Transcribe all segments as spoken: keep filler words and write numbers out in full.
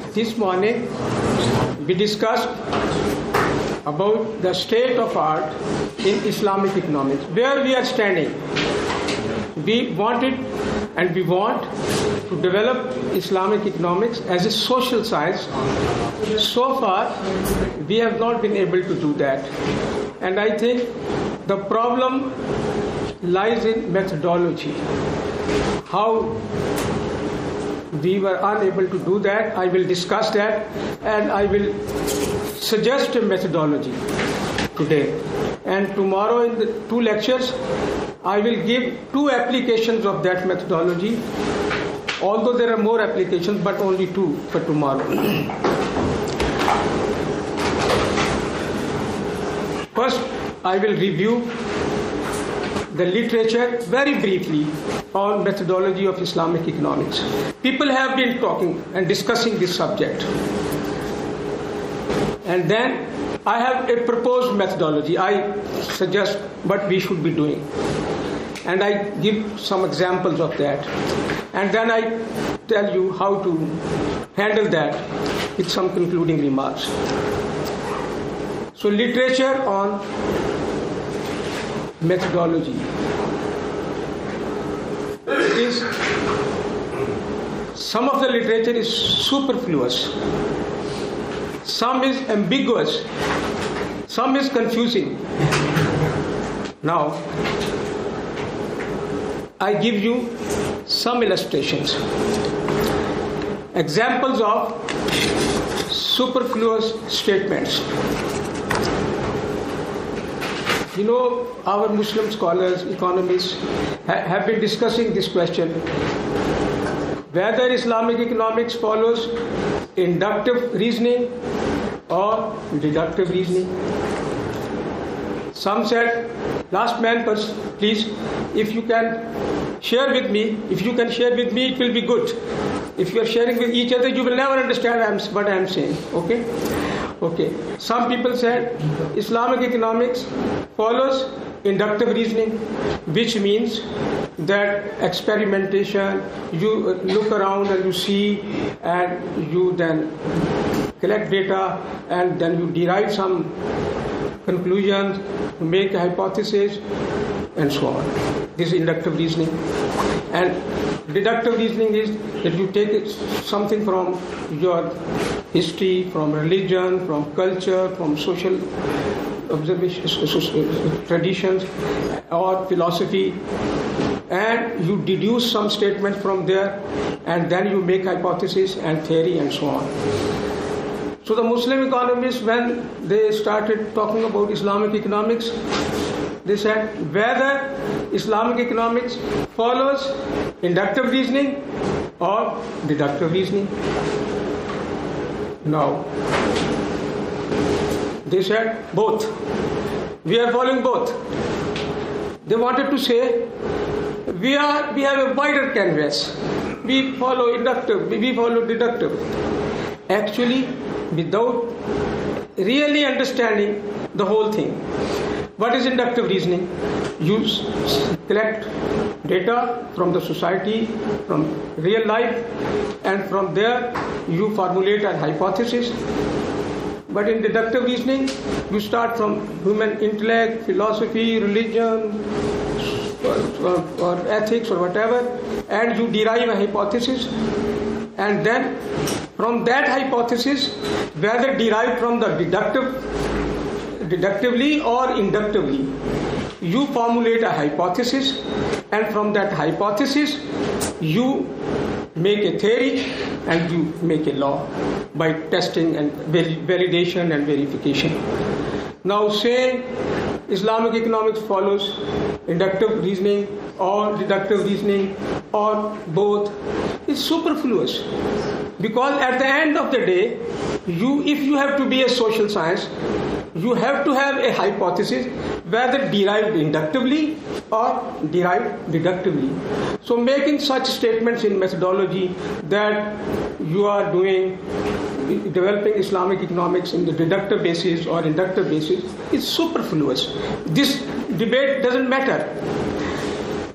This morning we discussed about the state of art in Islamic economics, where we are standing. We wanted and we want to develop Islamic economics as a social science. So far, we have not been able to do that. And I think the problem lies in methodology. How we were unable to do that, I will discuss that, and I will suggest a methodology today. And tomorrow in the two lectures, I will give two applications of that methodology, although there are more applications, but only two for tomorrow. First, I will review the literature very briefly on methodology of Islamic economics. People have been talking and discussing this subject. And then I have a proposed methodology. I suggest what we should be doing. And I give some examples of that. And then I tell you how to handle that with some concluding remarks. So literature on methodology. It is, some of the literature is superfluous. Some is ambiguous. Some is confusing. Now, I give you some illustrations. Examples of superfluous statements. You know, our Muslim scholars, economists ha- have been discussing this question, whether Islamic economics follows inductive reasoning or deductive reasoning. Some said, last man first, please, if you can share with me, if you can share with me, it will be good. If you are sharing with each other, you will never understand what I am saying, okay? Okay. Some people said Islamic economics follows inductive reasoning, which means that experimentation, you look around and you see, and you then collect data, and then you derive some conclusions, make a hypothesis, and so on. This is inductive reasoning. And deductive reasoning is that you take something from your history, from religion, from culture, from social observations, traditions, or philosophy, and you deduce some statements from there, and then you make hypothesis and theory and so on. So the Muslim economists, when they started talking about Islamic economics, they said whether Islamic economics follows inductive reasoning or deductive reasoning. Now, they said both. We are following both. They wanted to say we are we have a wider canvas. We follow inductive, we follow deductive. Actually, without really understanding the whole thing. What is inductive reasoning? You collect data from the society, from real life, and from there you formulate a hypothesis. But in deductive reasoning, you start from human intellect, philosophy, religion, or, or ethics, or whatever, and you derive a hypothesis. And then from that hypothesis, whether derived from the deductive, deductively or inductively, you formulate a hypothesis, and from that hypothesis, you make a theory and you make a law by testing and validation and verification. Now, say Islamic economics follows inductive reasoning or deductive reasoning or both, is superfluous. Because at the end of the day, you, if you have to be a social science, you have to have a hypothesis, whether derived inductively or derived deductively. So making such statements in methodology that you are doing, developing Islamic economics in the deductive basis or inductive basis is superfluous. This debate doesn't matter.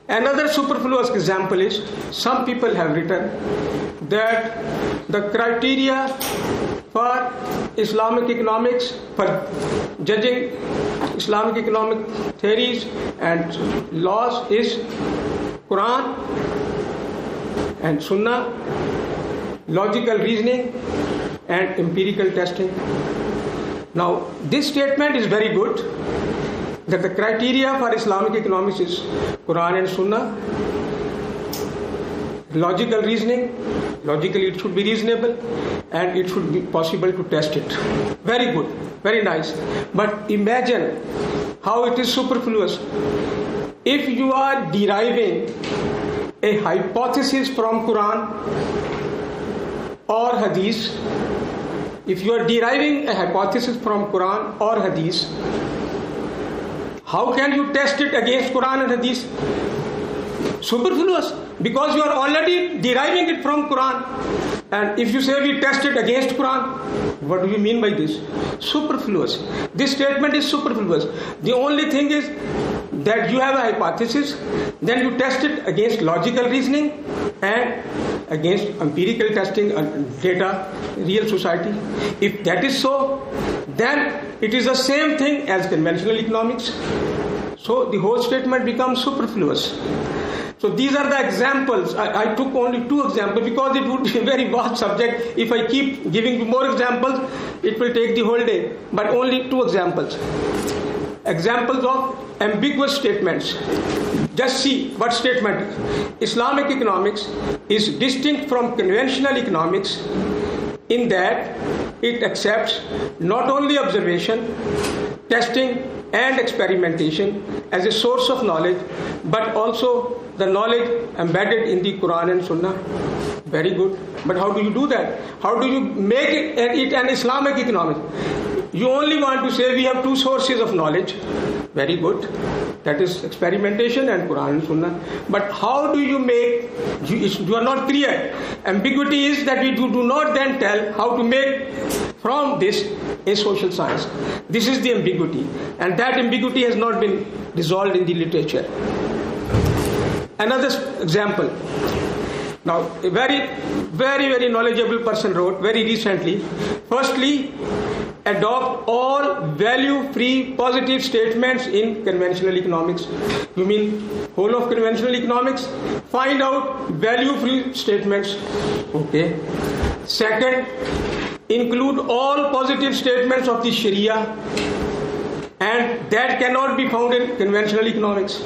Another superfluous example is some people have written that the criteria for Islamic economics, for judging Islamic economic theories and laws is Quran and Sunnah, logical reasoning and empirical testing. Now, this statement is very good, that the criteria for Islamic economics is Quran and Sunnah, logical reasoning, logically it should be reasonable, and it should be possible to test it. Very good, very nice. But imagine how it is superfluous. If you are deriving a hypothesis from Quran or Hadith, if you are deriving a hypothesis from Quran or Hadith, how can you test it against Quran and Hadith? Superfluous, because you are already deriving it from Quran. And if you say we test it against Quran, what do you mean by this? Superfluous. This statement is superfluous. The only thing is that you have a hypothesis, then you test it against logical reasoning and against empirical testing and data, real society. If that is so, then it is the same thing as conventional economics. So the whole statement becomes superfluous. So these are the examples. I, I took only two examples because it would be a very vast subject. If I keep giving you more examples, it will take the whole day. But only two examples. Examples of ambiguous statements. Just see what statement is. Islamic economics is distinct from conventional economics in that it accepts not only observation, testing and experimentation as a source of knowledge, but also the knowledge embedded in the Quran and Sunnah. Very good. But how do you do that? How do you make it, it an Islamic economics? You only want to say we have two sources of knowledge. Very good. That is experimentation and Quran and Sunnah. But how do you make, you, you are not clear. Ambiguity is that we do, do not then tell how to make from this a social science. This is the ambiguity. And that ambiguity has not been resolved in the literature. Another example. Now, a very, very, very knowledgeable person wrote very recently, firstly, adopt all value-free positive statements in conventional economics. You mean whole of conventional economics? Find out value-free statements. Okay. Second, include all positive statements of the Sharia, and that cannot be found in conventional economics.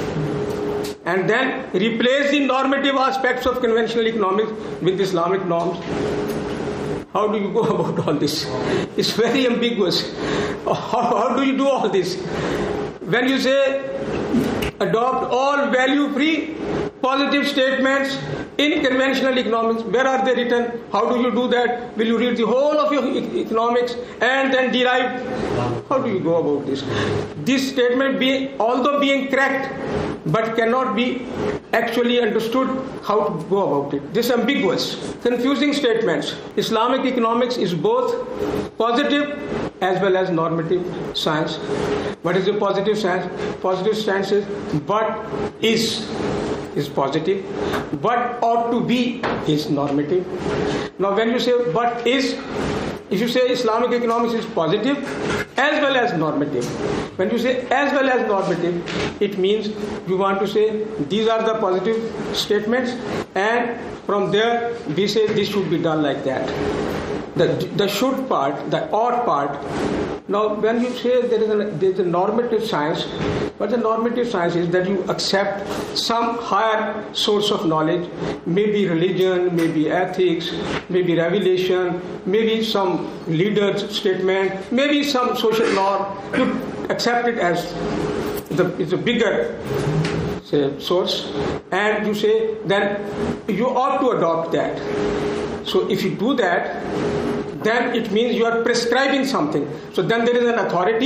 And then replace the normative aspects of conventional economics with Islamic norms. How do you go about all this? It's very ambiguous. How, how do you do all this? When you say adopt all value-free positive statements in conventional economics, where are they written? How do you do that? Will you read the whole of your economics and then derive? How do you go about this? This statement, be, although being correct, but cannot be actually understood how to go about it. This ambiguous, confusing statements. Islamic economics is both positive as well as normative science. What is the positive science? Positive science is what is is positive, what ought to be is normative. Now when you say what is, if you say Islamic economics is positive as well as normative, when you say as well as normative, it means you want to say these are the positive statements, and from there we say this should be done like that. The, the should part, the ought part. Now when you say there is, a, there is a normative science, but the normative science is that you accept some higher source of knowledge, maybe religion, maybe ethics, maybe revelation, maybe some leader's statement, maybe some social norm. You accept it as the, it's a bigger say, source, and you say then you ought to adopt that. So if you do that, then it means you are prescribing something. So then there is an authority,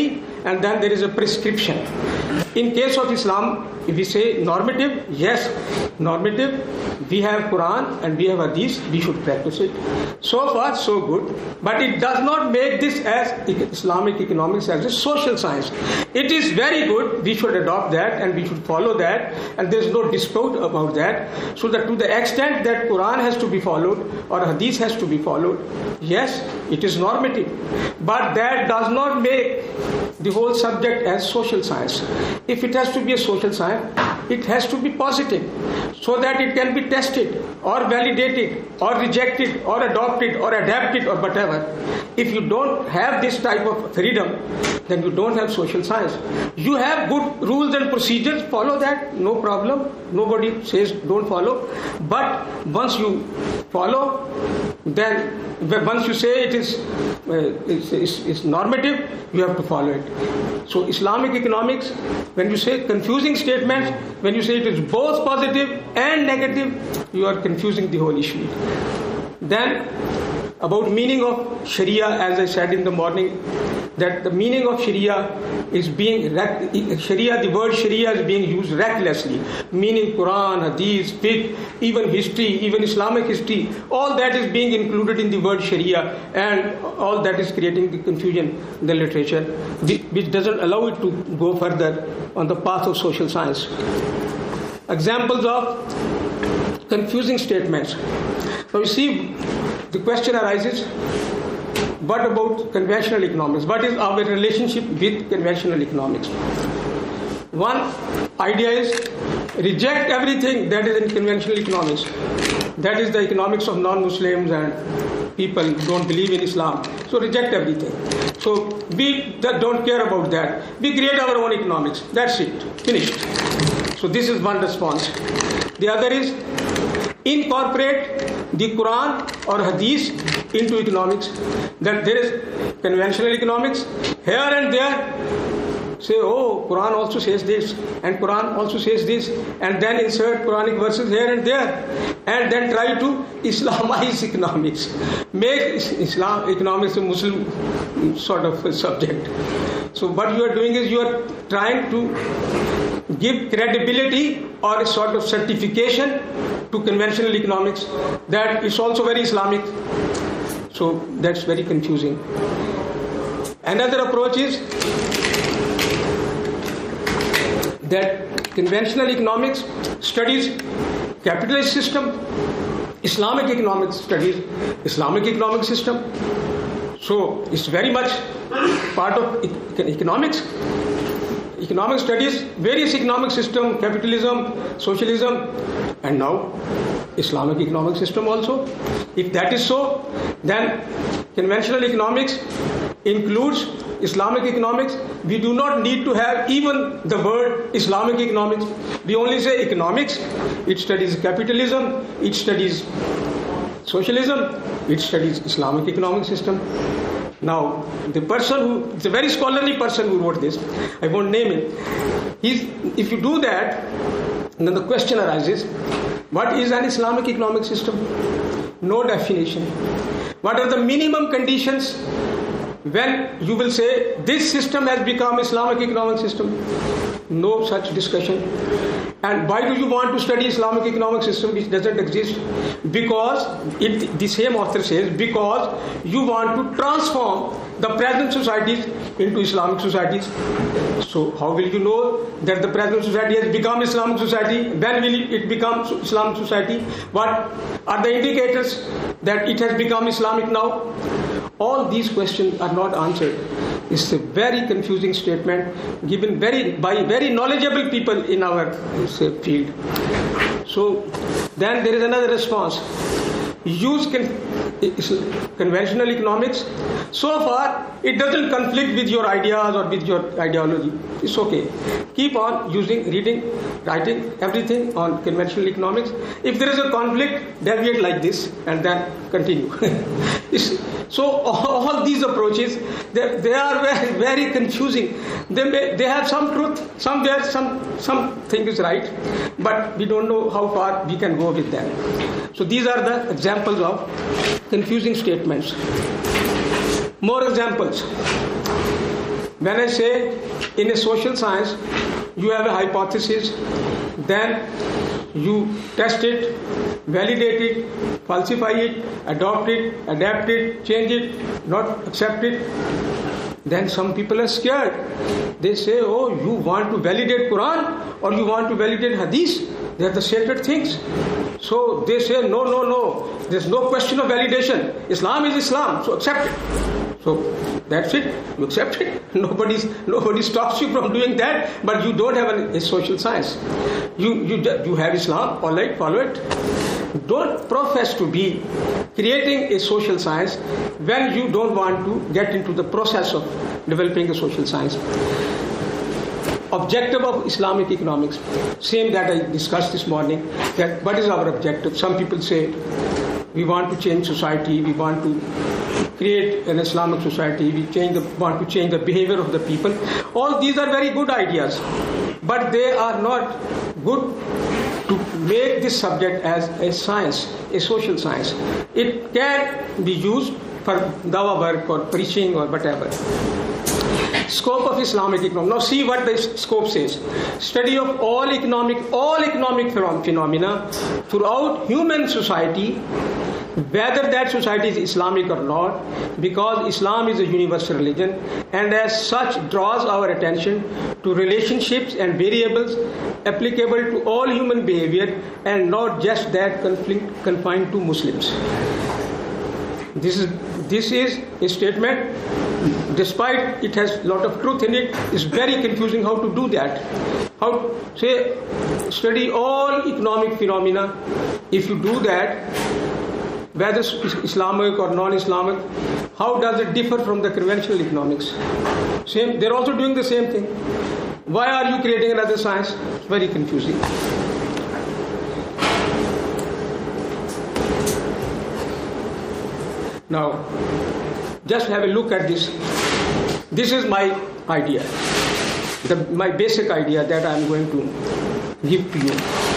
and then there is a prescription. In case of Islam, if we say normative, yes, normative, we have Quran and we have Hadith, we should practice it. So far, so good. But it does not make this as Islamic economics as a social science. It is very good, we should adopt that and we should follow that, and there is no dispute about that. So that to the extent that Quran has to be followed or Hadith has to be followed, yes, it is normative. But that does not make the whole subject as social science. If it has to be a social science, it has to be positive so that it can be tested or validated or rejected or adopted or adapted or whatever. If you don't have this type of freedom, then you don't have social science. You have good rules and procedures, follow that, no problem. Nobody says don't follow. But once you follow, then once you say it is uh, it's, it's, it's normative, you have to follow it. So Islamic economics, when you say confusing statements, when you say it is both positive and negative, you are confusing the whole issue. Then about meaning of Sharia, as I said in the morning, that the meaning of Sharia is being, Sharia, the word Sharia is being used recklessly, meaning Quran, Hadith, Fiqh, even history, even Islamic history, all that is being included in the word Sharia, and all that is creating the confusion in the literature, which doesn't allow it to go further on the path of social science. Examples of confusing statements. So you see, the question arises, what about conventional economics? What is our relationship with conventional economics? One idea is reject everything that is in conventional economics. That is the economics of non-Muslims and people who don't believe in Islam. So reject everything. So we don't care about that. We create our own economics. That's it. Finished. So this is one response. The other is incorporate the Quran or Hadith into economics. That there is conventional economics here and there. Say, oh, Quran also says this, and Quran also says this, and then insert Quranic verses here and there, and then try to Islamize economics, make Islam economics a Muslim sort of subject. So what you are doing is you are trying to give credibility or a sort of certification to conventional economics that it's also very Islamic. So that's very confusing. Another approach is that conventional economics studies capitalist system, Islamic economics studies Islamic economic system. So it's very much part of economics. Economic studies various economic system, capitalism, socialism, and now Islamic economic system also. If that is so, then conventional economics includes Islamic economics. We do not need to have even the word Islamic economics. We only say economics. It studies capitalism, it studies socialism, it studies Islamic economic system. Now, the person who, it's a very scholarly person who wrote this, I won't name him. He's, if you do that, then the question arises, what is an Islamic economic system? No definition. What are the minimum conditions when you will say this system has become Islamic economic system? No such discussion. And why do you want to study Islamic economic system which doesn't exist? Because, it, the same author says, because you want to transform the present societies into Islamic societies. So how will you know that the present society has become Islamic society? When will it become Islamic society? What are the indicators that it has become Islamic now? All these questions are not answered. It's a very confusing statement given very by very knowledgeable people in our say, field. So then there is another response. Use con- conventional economics. So far, it doesn't conflict with your ideas or with your ideology. It's okay. Keep on using, reading, writing, everything on conventional economics. If there is a conflict, deviate like this and then continue. So all these approaches, they, they are very, very confusing. They may, they have some truth, somewhere some something is right, but we don't know how far we can go with them. So these are the examples of confusing statements. More examples. When I say in a social science, you have a hypothesis, then you test it, validate it, falsify it, adopt it, adapt it, change it, not accept it. Then some people are scared. They say, oh, you want to validate Quran or you want to validate Hadith? They are the sacred things. So they say, no, no, no. There's no question of validation. Islam is Islam, so accept it. So that's it. You accept it. Nobody's, nobody stops you from doing that, but you don't have an, a social science. You, you, you have Islam, all right, follow it. Don't profess to be creating a social science when you don't want to get into the process of developing a social science. Objective of Islamic economics, same that I discussed this morning, that what is our objective? Some people say we want to change society, we want to create an Islamic society, we change the, want to change the behavior of the people. All these are very good ideas, but they are not good to make this subject as a science, a social science. It can be used for dawa work or preaching or whatever. Scope of Islamic economics. Now see what the scope says. Study of all economic, all economic phenomena throughout human society, whether that society is Islamic or not, because Islam is a universal religion and as such draws our attention to relationships and variables applicable to all human behavior and not just that conflict confined to Muslims. This is this is a statement, despite it has a lot of truth in it, it's very confusing how to do that. How say study all economic phenomena. If you do that, whether Islamic or non-Islamic, how does it differ from the conventional economics? Same, they're also doing the same thing. Why are you creating another science? It's very confusing. Now, just have a look at this. This is my idea, the, my basic idea that I'm going to give to you.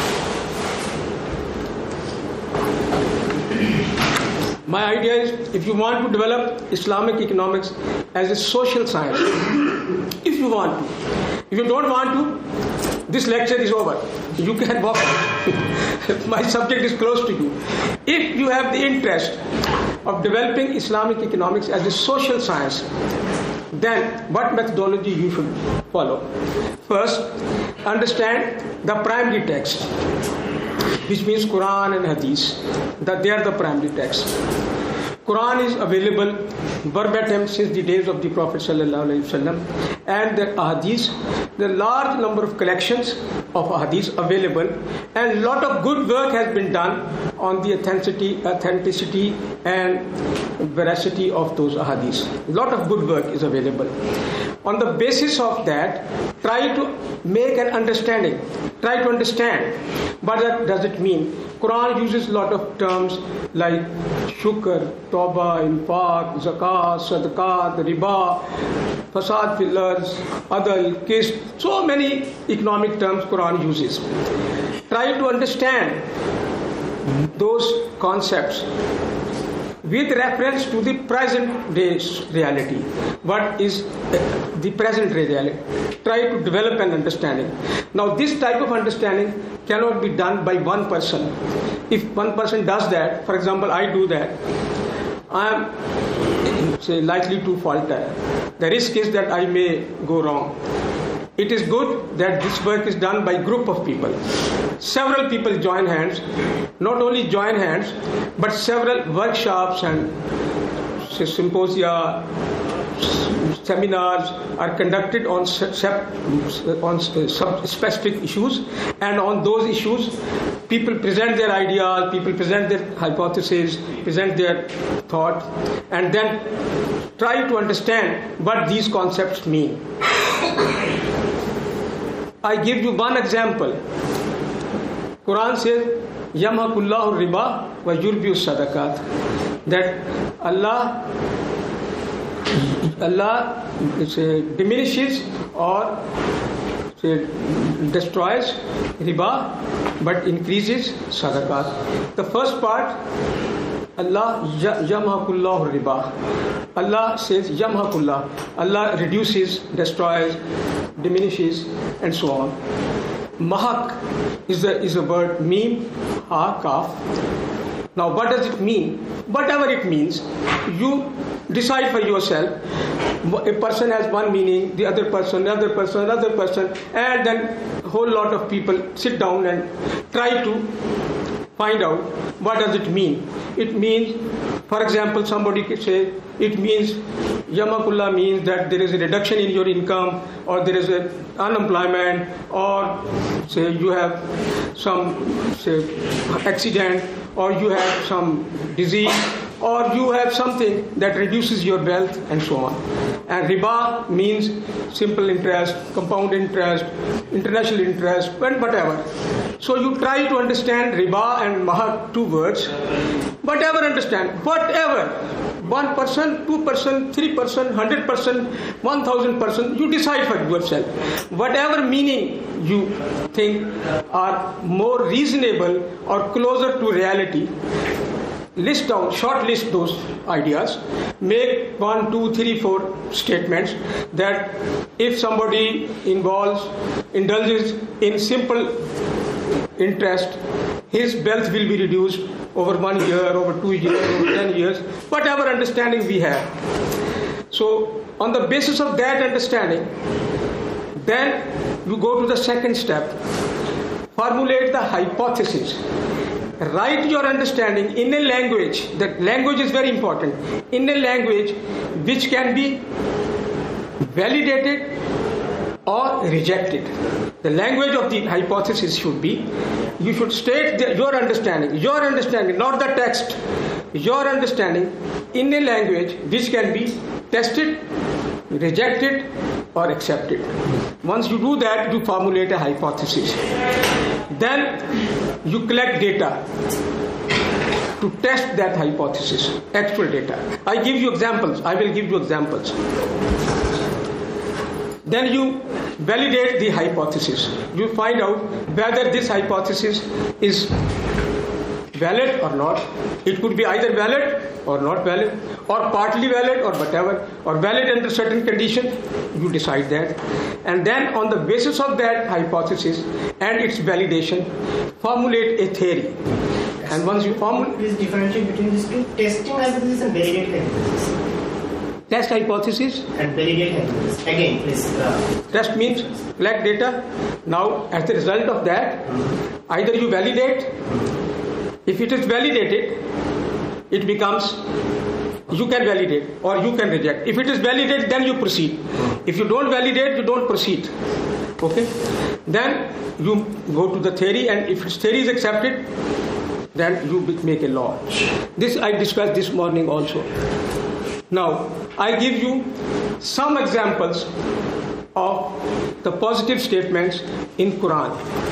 My idea is, if you want to develop Islamic economics as a social science, if you want to. If you don't want to, this lecture is over. You can walk out. My subject is close to you. If you have the interest of developing Islamic economics as a social science, then what methodology you should follow? First, understand the primary text, which means Quran and Hadith, that they are the primary texts. Quran is available verbatim since the days of the Prophet sallallahu alaihi wasallam, and the Hadith, the large number of collections of Hadith available, and a lot of good work has been done on the authenticity, authenticity and veracity of those Hadiths. A lot of good work is available. On the basis of that, try to make an understanding. Try to understand what that does it mean. Quran uses a lot of terms like shukr, tawbah, infaq, zakat, sadaqat, riba, fasad fil ard, adl, qist. So many economic terms Quran uses. Try to understand those concepts with reference to the present day's reality. What is the present day reality? Try to develop an understanding. Now, this type of understanding cannot be done by one person. If one person does that, for example, I do that, I am say, likely to falter. The risk is that I may go wrong. It is good that this work is done by a group of people. Several people join hands, not only join hands, but several workshops and say, symposia, seminars are conducted on, on specific issues, and on those issues people present their ideas, people present their hypotheses, present their thought, and then try to understand what these concepts mean. I give you one example. Quran says, Yamhaqullahu riba wa yurbiu sadaqat. That Allah Allah say, diminishes or say, destroys riba but increases sadaqat. The first part Allah yamhaqullahu riba. Allah says yamhaqullah. Allah reduces, destroys, diminishes, and so on. Mahak is a is a word, mim, ha, kaf. Now, what does it mean? Whatever it means, you decide for yourself. A person has one meaning, the other person, another person, another person, and then a whole lot of people sit down and try to find out what does it mean. It means, for example, somebody could say, it means, Yamakullah means that there is a reduction in your income, or there is a unemployment, or say you have some say accident, or you have some disease, or you have something that reduces your wealth, and so on. And riba means simple interest, compound interest, international interest, and whatever. So you try to understand riba and mahak, two words. Whatever understand, whatever. One person, two person, three person, hundred person, one thousand person, you decide for yourself. Whatever meaning you think are more reasonable or closer to reality, list down, short list those ideas, make one, two, three, four statements that if somebody involves, indulges in simple interest, his wealth will be reduced over one year, over two years, over ten years, whatever understanding we have. So, on the basis of that understanding, then you go to the second step. Formulate the hypothesis. Write your understanding in a language, that language is very important, in a language which can be validated or rejected. The language of the hypothesis should be, you should state the, your understanding, your understanding, not the text, your understanding in a language which can be tested, rejected, or accepted. Once you do that, you formulate a hypothesis. Then you collect data to test that hypothesis, actual data. I give you examples. I will give you examples. Then you validate the hypothesis. You find out whether this hypothesis is valid or not. It could be either valid or not valid, or partly valid or whatever, or valid under certain conditions. You decide that. And then on the basis of that hypothesis and its validation, formulate a theory. And once you formulate... Please differentiate between these two, testing hypothesis and validate hypothesis. Test hypothesis and validate hypothesis. Again, please. Uh, Test means collect data. Now, as a result of that, either you validate. If it is validated, it becomes, you can validate or you can reject. If it is validated, then you proceed. If you don't validate, you don't proceed. Okay? Then you go to the theory, and if its theory is accepted, then you make a law. This I discussed this morning also. Now, I give you some examples of the positive statements in Quran.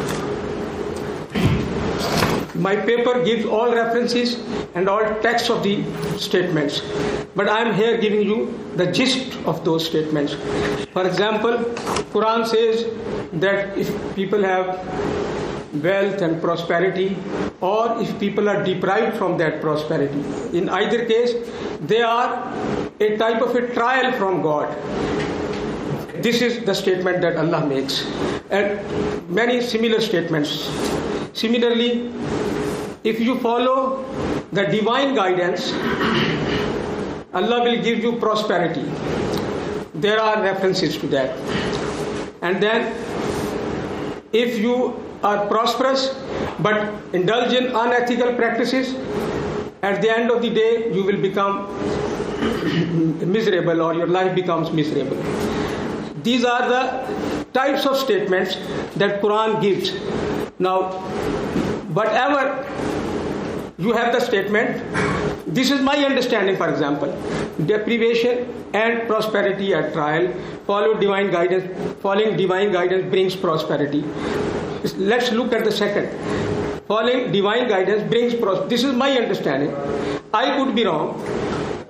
My paper gives all references and all texts of the statements, but I am here giving you the gist of those statements. For example, Quran says that if people have wealth and prosperity, or if people are deprived from that prosperity, in either case, they are a type of a trial from God. This is the statement that Allah makes, and many similar statements. Similarly, if you follow the divine guidance, Allah will give you prosperity. There are references to that. And then, if you are prosperous but indulge in unethical practices, at the end of the day you will become miserable, or your life becomes miserable. These are the types of statements that Quran gives. Now, whatever you have the statement, this is my understanding, for example, deprivation and prosperity at trial, follow divine guidance, following divine guidance brings prosperity. Let's look at the second. Following divine guidance brings prosperity. This is my understanding. I could be wrong.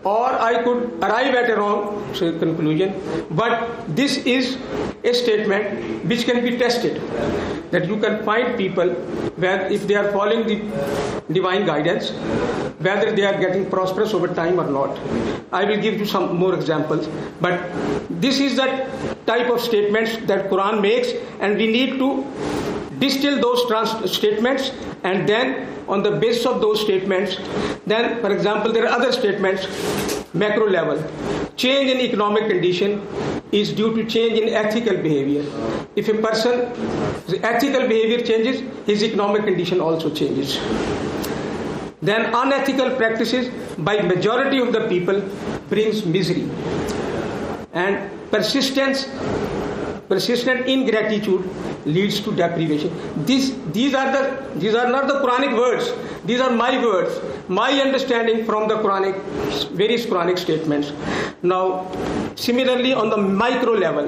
or I could arrive at a wrong say, conclusion. But this is a statement which can be tested. That you can find people where if they are following the divine guidance, whether they are getting prosperous over time or not. I will give you some more examples. But this is the type of statements that Quran makes, and we need to distill those trans- statements, and then on the basis of those statements, then for example there are other statements, macro level. Change in economic condition is due to change in ethical behavior. If a person's ethical behavior changes, his economic condition also changes. Then unethical practices by majority of the people brings misery. And persistence, persistent ingratitude leads to deprivation. These, these are the, these are not the Quranic words. These are my words, my understanding from the Quranic, various Quranic statements. Now, similarly on the micro level,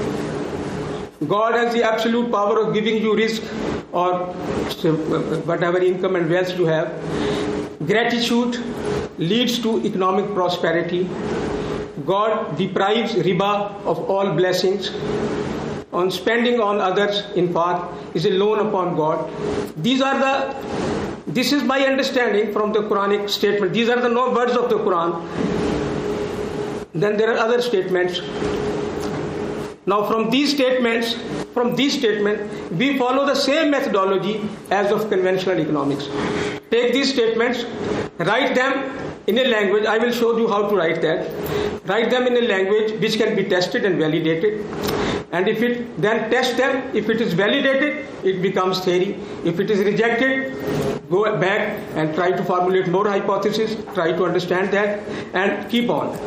God has the absolute power of giving you risk or whatever income and wealth you have. Gratitude leads to economic prosperity. God deprives riba of all blessings. On spending on others in part is a loan upon God. These are the, this is my understanding from the Quranic statement. These are the no words of the Quran. Then there are other statements. Now from these statements, from these statements, we follow the same methodology as of conventional economics. Take these statements, write them in a language. I will show you how to write that. Write them in a language which can be tested and validated. And if it then test them, if it is validated, it becomes theory. If it is rejected, go back and try to formulate more hypotheses, try to understand that, and keep on.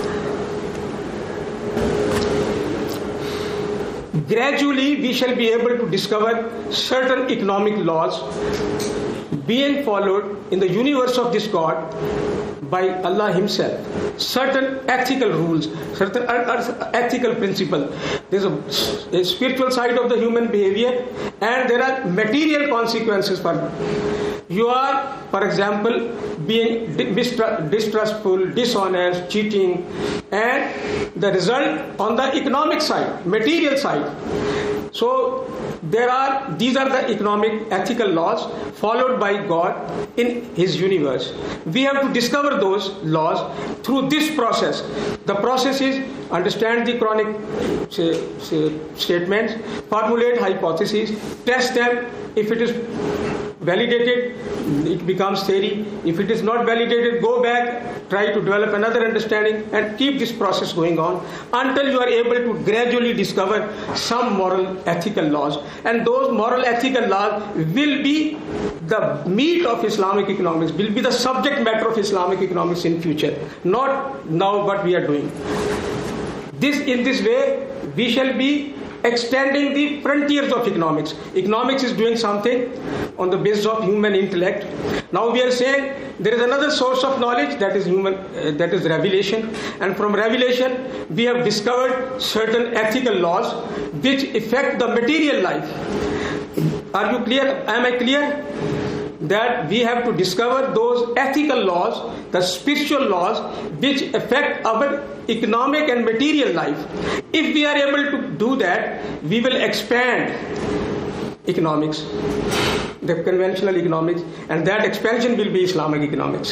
Gradually, we shall be able to discover certain economic laws being followed in the universe of this God by Allah Himself. Certain ethical rules, certain ethical principles. There's a, a spiritual side of the human behavior, and there are material consequences for it. You are, for example, being distrustful, dishonest, cheating, and the result on the economic side, material side. So there are, these are the economic ethical laws followed by God in His universe. We have to discover those laws through this process. The process is understand the Quranic say, say, statements, formulate hypotheses, test them. If it is validated, it becomes theory. If it is not validated, go back, try to develop another understanding, and keep this process going on until you are able to gradually discover some moral ethical laws. And those moral ethical laws will be the meat of Islamic economics, will be the subject matter of Islamic economics in future, not now what we are doing. This, in this way, we shall be extending the frontiers of economics. Economics is doing something on the basis of human intellect. Now we are saying there is another source of knowledge, that is human, uh, that is revelation. And from revelation, we have discovered certain ethical laws which affect the material life. Are you clear? Am I clear? That we have to discover those ethical laws, the spiritual laws, which affect our economic and material life. If we are able to do that, we will expand economics, the conventional economics, and that expansion will be Islamic economics.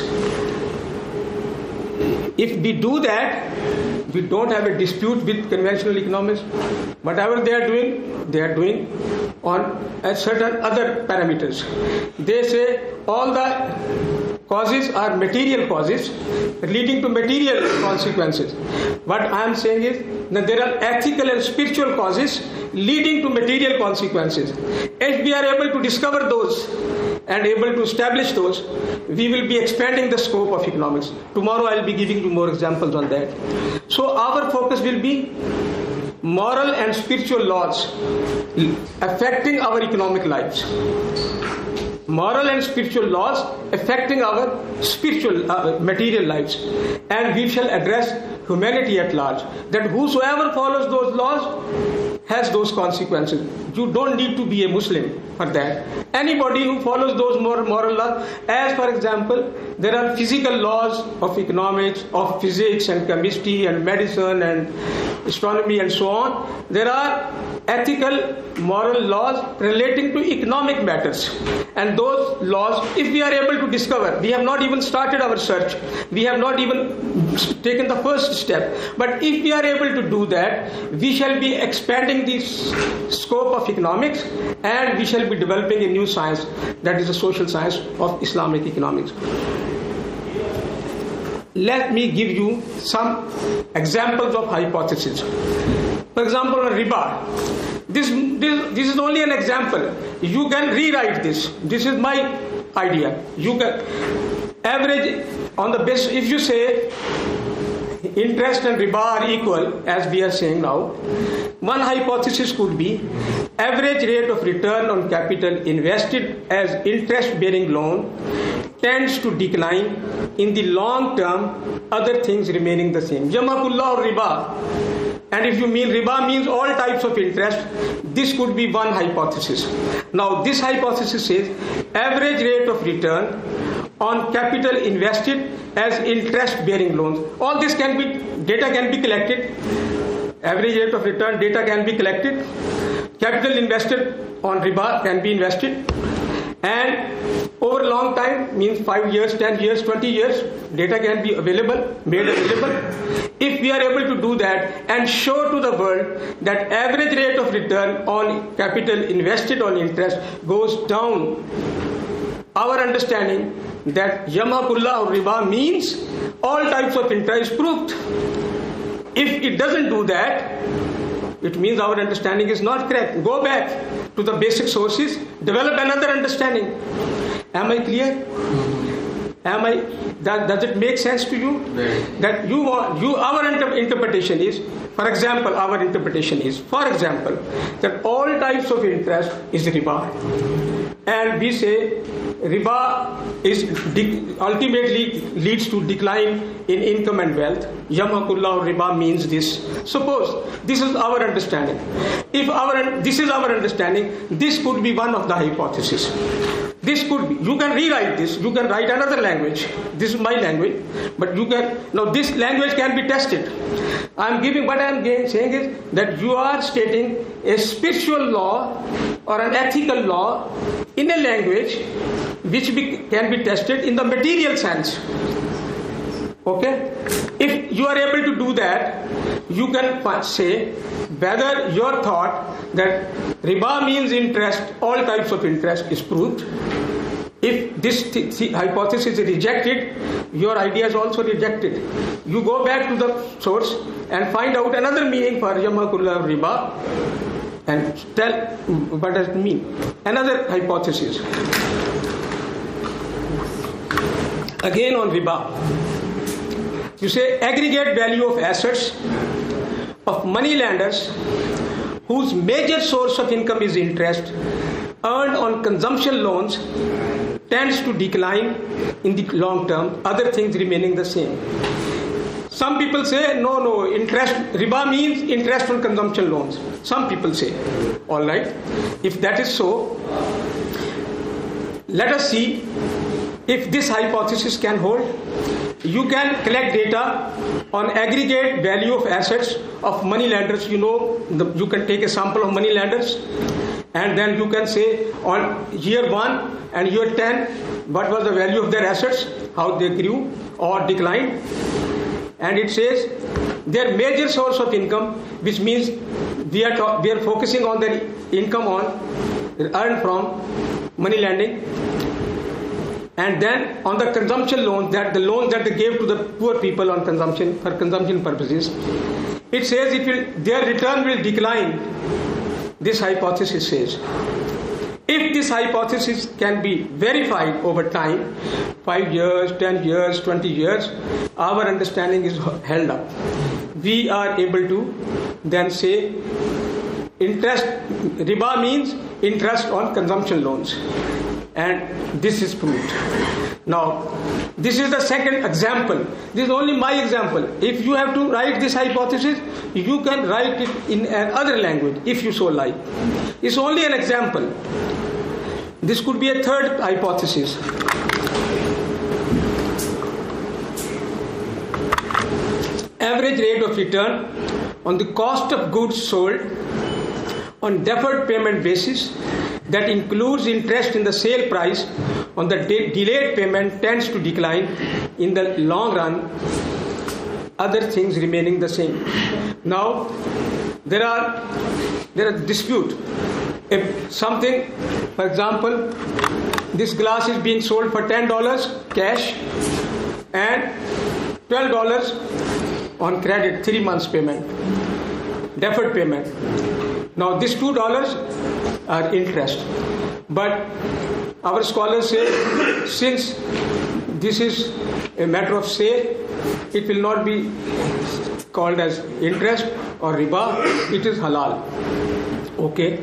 If we do that, we don't have a dispute with conventional economics. Whatever they are doing, they are doing on a certain other parameters. They say all the causes are material causes leading to material consequences. What I am saying is that there are ethical and spiritual causes leading to material consequences. If we are able to discover those and able to establish those, we will be expanding the scope of economics. Tomorrow I will be giving you more examples on that. So our focus will be moral and spiritual laws affecting our economic lives. Moral and spiritual laws affecting our spiritual uh, material lives, and we shall address humanity at large, that whosoever follows those laws has those consequences. You don't need to be a Muslim for that. Anybody who follows those moral, moral laws, as for example, there are physical laws of economics, of physics and chemistry and medicine and astronomy and so on. There are ethical, moral laws relating to economic matters. And those laws, if we are able to discover, we have not even started our search, we have not even taken the first step, but if we are able to do that, we shall be expanding the scope of economics and we shall be developing a new science, that is the social science of Islamic economics. Let me give you some examples of hypotheses. For example, on riba. This, this, this is only an example. You can rewrite this. This is my idea. You can average on the base. If you say interest and riba are equal, as we are saying now, one hypothesis could be average rate of return on capital invested as interest-bearing loan tends to decline in the long term, other things remaining the same. Yamhaqullah or riba. And if you mean riba means all types of interest, this could be one hypothesis. Now this hypothesis says average rate of return on capital invested as interest bearing loans. All this can be, data can be collected. Average rate of return data can be collected. Capital invested on riba can be invested. And over a long time, means five years, ten years, twenty years, data can be available, made available. If we are able to do that and show to the world that average rate of return on capital invested on interest goes down, our understanding that Yamhaqullah or riba means all types of interest is proved. If it doesn't do that, it means our understanding is not correct. Go back to the basic sources, develop another understanding. Am I clear? Am I? That, does it make sense to you? That you want, you, our inter- interpretation is, for example, our interpretation is, for example, that all types of interest is riba. And we say riba is de- ultimately leads to decline in income and wealth. Yamhaqullah or riba means this. Suppose this is our understanding. If our this is our understanding, this could be one of the hypotheses. This could be, you can rewrite this, you can write another language. This is my language, but you can, now this language can be tested. I am giving, what I am saying is that you are stating a spiritual law or an ethical law in a language which be, can be tested in the material sense. Okay? If you are able to do that, you can say whether your thought that riba means interest, all types of interest is proved. If this th- th- hypothesis is rejected, your idea is also rejected. You go back to the source and find out another meaning for Yamhaqullah riba and tell what does it mean. Another hypothesis. Again on riba. You say aggregate value of assets of money lenders whose major source of income is interest earned on consumption loans tends to decline in the long term, other things remaining the same. Some people say, no, no, interest, riba means interest on consumption loans. Some people say, all right, if that is so, let us see if this hypothesis can hold. You can collect data on aggregate value of assets of money lenders. You know, the, you can take a sample of money lenders and then you can say on year one and year ten, what was the value of their assets, how they grew or declined. And it says their major source of income, which means we are, ta- we are focusing on their income on earned from money lending. And then on the consumption loans, that the loans that they gave to the poor people on consumption for consumption purposes, it says it will, their return will decline. This hypothesis says. If this hypothesis can be verified over time, five years, ten years, twenty years, our understanding is held up. We are able to then say interest, riba means interest on consumption loans. and this is proved. Now, this is the second example. This is only my example. If you have to write this hypothesis, you can write it in another language if you so like. It's only an example. This could be a third hypothesis. Average rate of return on the cost of goods sold on deferred payment basis that includes interest in the sale price on the de- delayed payment tends to decline in the long run, other things remaining the same. Now, there are there are dispute. If something, for example, this glass is being sold for ten dollars cash and twelve dollars on credit, three months payment, deferred payment. Now, these two dollars are interest. But our scholars say, since this is a matter of sale, it will not be called as interest or riba, it is halal. Okay.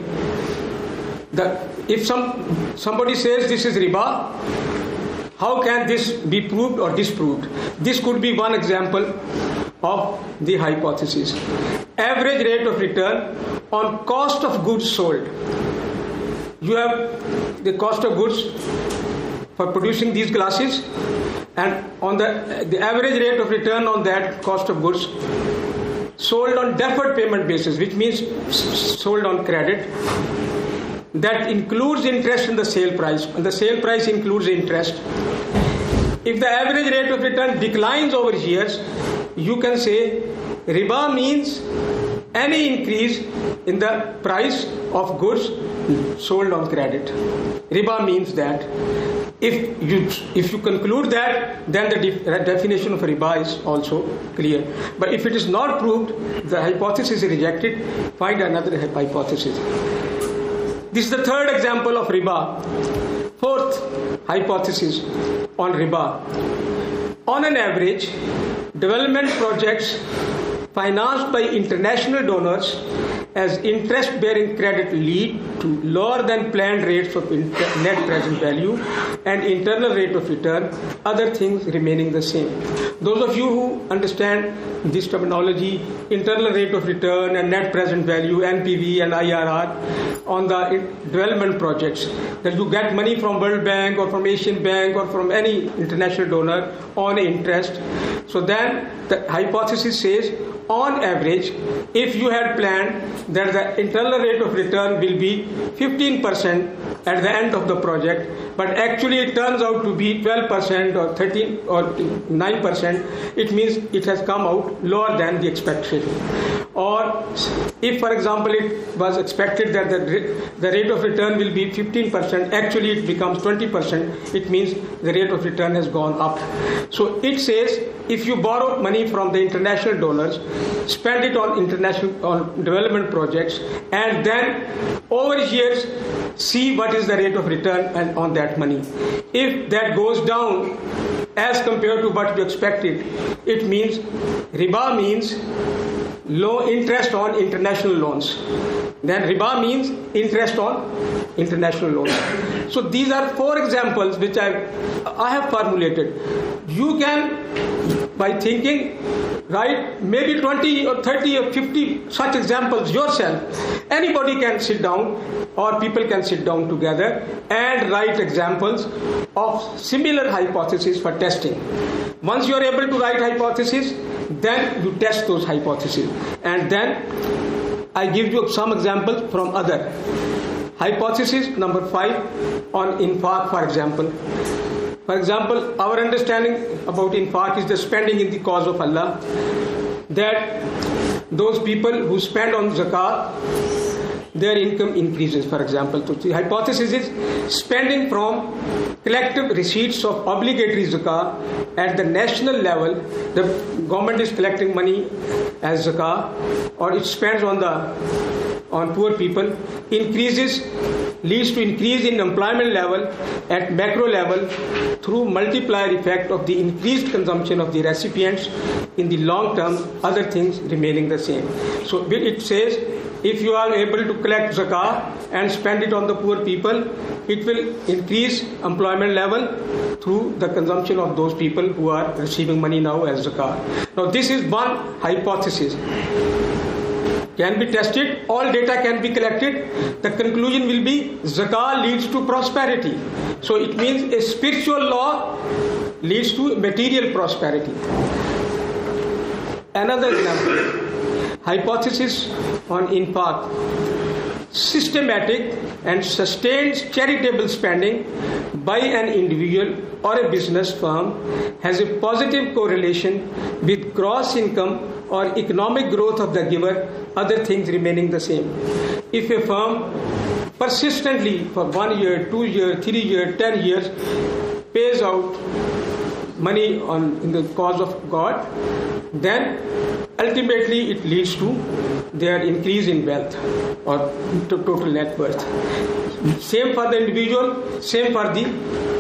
The, if some somebody says this is riba, how can this be proved or disproved? This could be one example of the hypothesis. Average rate of return on cost of goods sold. You have the cost of goods for producing these glasses, and on the the average rate of return on that cost of goods sold on deferred payment basis, which means sold on credit, that includes interest in the sale price, and the sale price includes interest. If the average rate of return declines over years, you can say riba means any increase in the price of goods sold on credit. Riba means that. If you if you conclude that, then the def- definition of riba is also clear. But if it is not proved, the hypothesis is rejected. Find another hypothesis. This is the third example of riba. Fourth hypothesis on riba. On an average, development projects financed by international donors as interest-bearing credit lead to lower than planned rates of net present value and internal rate of return, other things remaining the same. Those of you who understand this terminology, internal rate of return and net present value, N P V and I R R, on the development projects, that you get money from World Bank or from Asian Bank or from any international donor on interest. So then the hypothesis says, on average, if you had planned that the internal rate of return will be fifteen percent at the end of the project, but actually it turns out to be twelve percent or thirteen or nine percent, it means it has come out lower than the expectation. Or if, for example, it was expected that the, the rate of return will be fifteen percent, actually it becomes twenty percent, it means the rate of return has gone up. So it says, if you borrow money from the international donors, spend it on international on development projects, and then over years see what is the rate of return and on that money. If that goes down as compared to what you expected, it means riba means low interest on international loans. Then riba means interest on international loans. So these are four examples which I I have formulated. You can, by thinking, write maybe twenty or thirty or fifty such examples yourself. Anybody can sit down, or people can sit down together and write examples of similar hypotheses for testing. Once you are able to write hypotheses, then you test those hypotheses. And then I give you some examples from other. Hypothesis number five on infaq, for example. For example, our understanding about infaq is the spending in the cause of Allah. That those people who spend on zakat, their income increases, for example. So the hypothesis is spending from collective receipts of obligatory zakah at the national level. The government is collecting money as zakah, or it spends on the on poor people, increases, leads to increase in employment level at macro level through multiplier effect of the increased consumption of the recipients in the long term, other things remaining the same. So it says if you are able to collect zakah and spend it on the poor people, it will increase employment level through the consumption of those people who are receiving money now as zakah. Now this is one hypothesis. Can be tested, all data can be collected. The conclusion will be zakah leads to prosperity. So it means a spiritual law leads to material prosperity. Another example, hypothesis on infaq. Systematic and sustained charitable spending by an individual or a business firm has a positive correlation with gross income or economic growth of the giver, other things remaining the same. If a firm persistently for one year, two years, three years, ten years pays out money on in the cause of God, then ultimately it leads to their increase in wealth or to total net worth. Same for the individual, same for the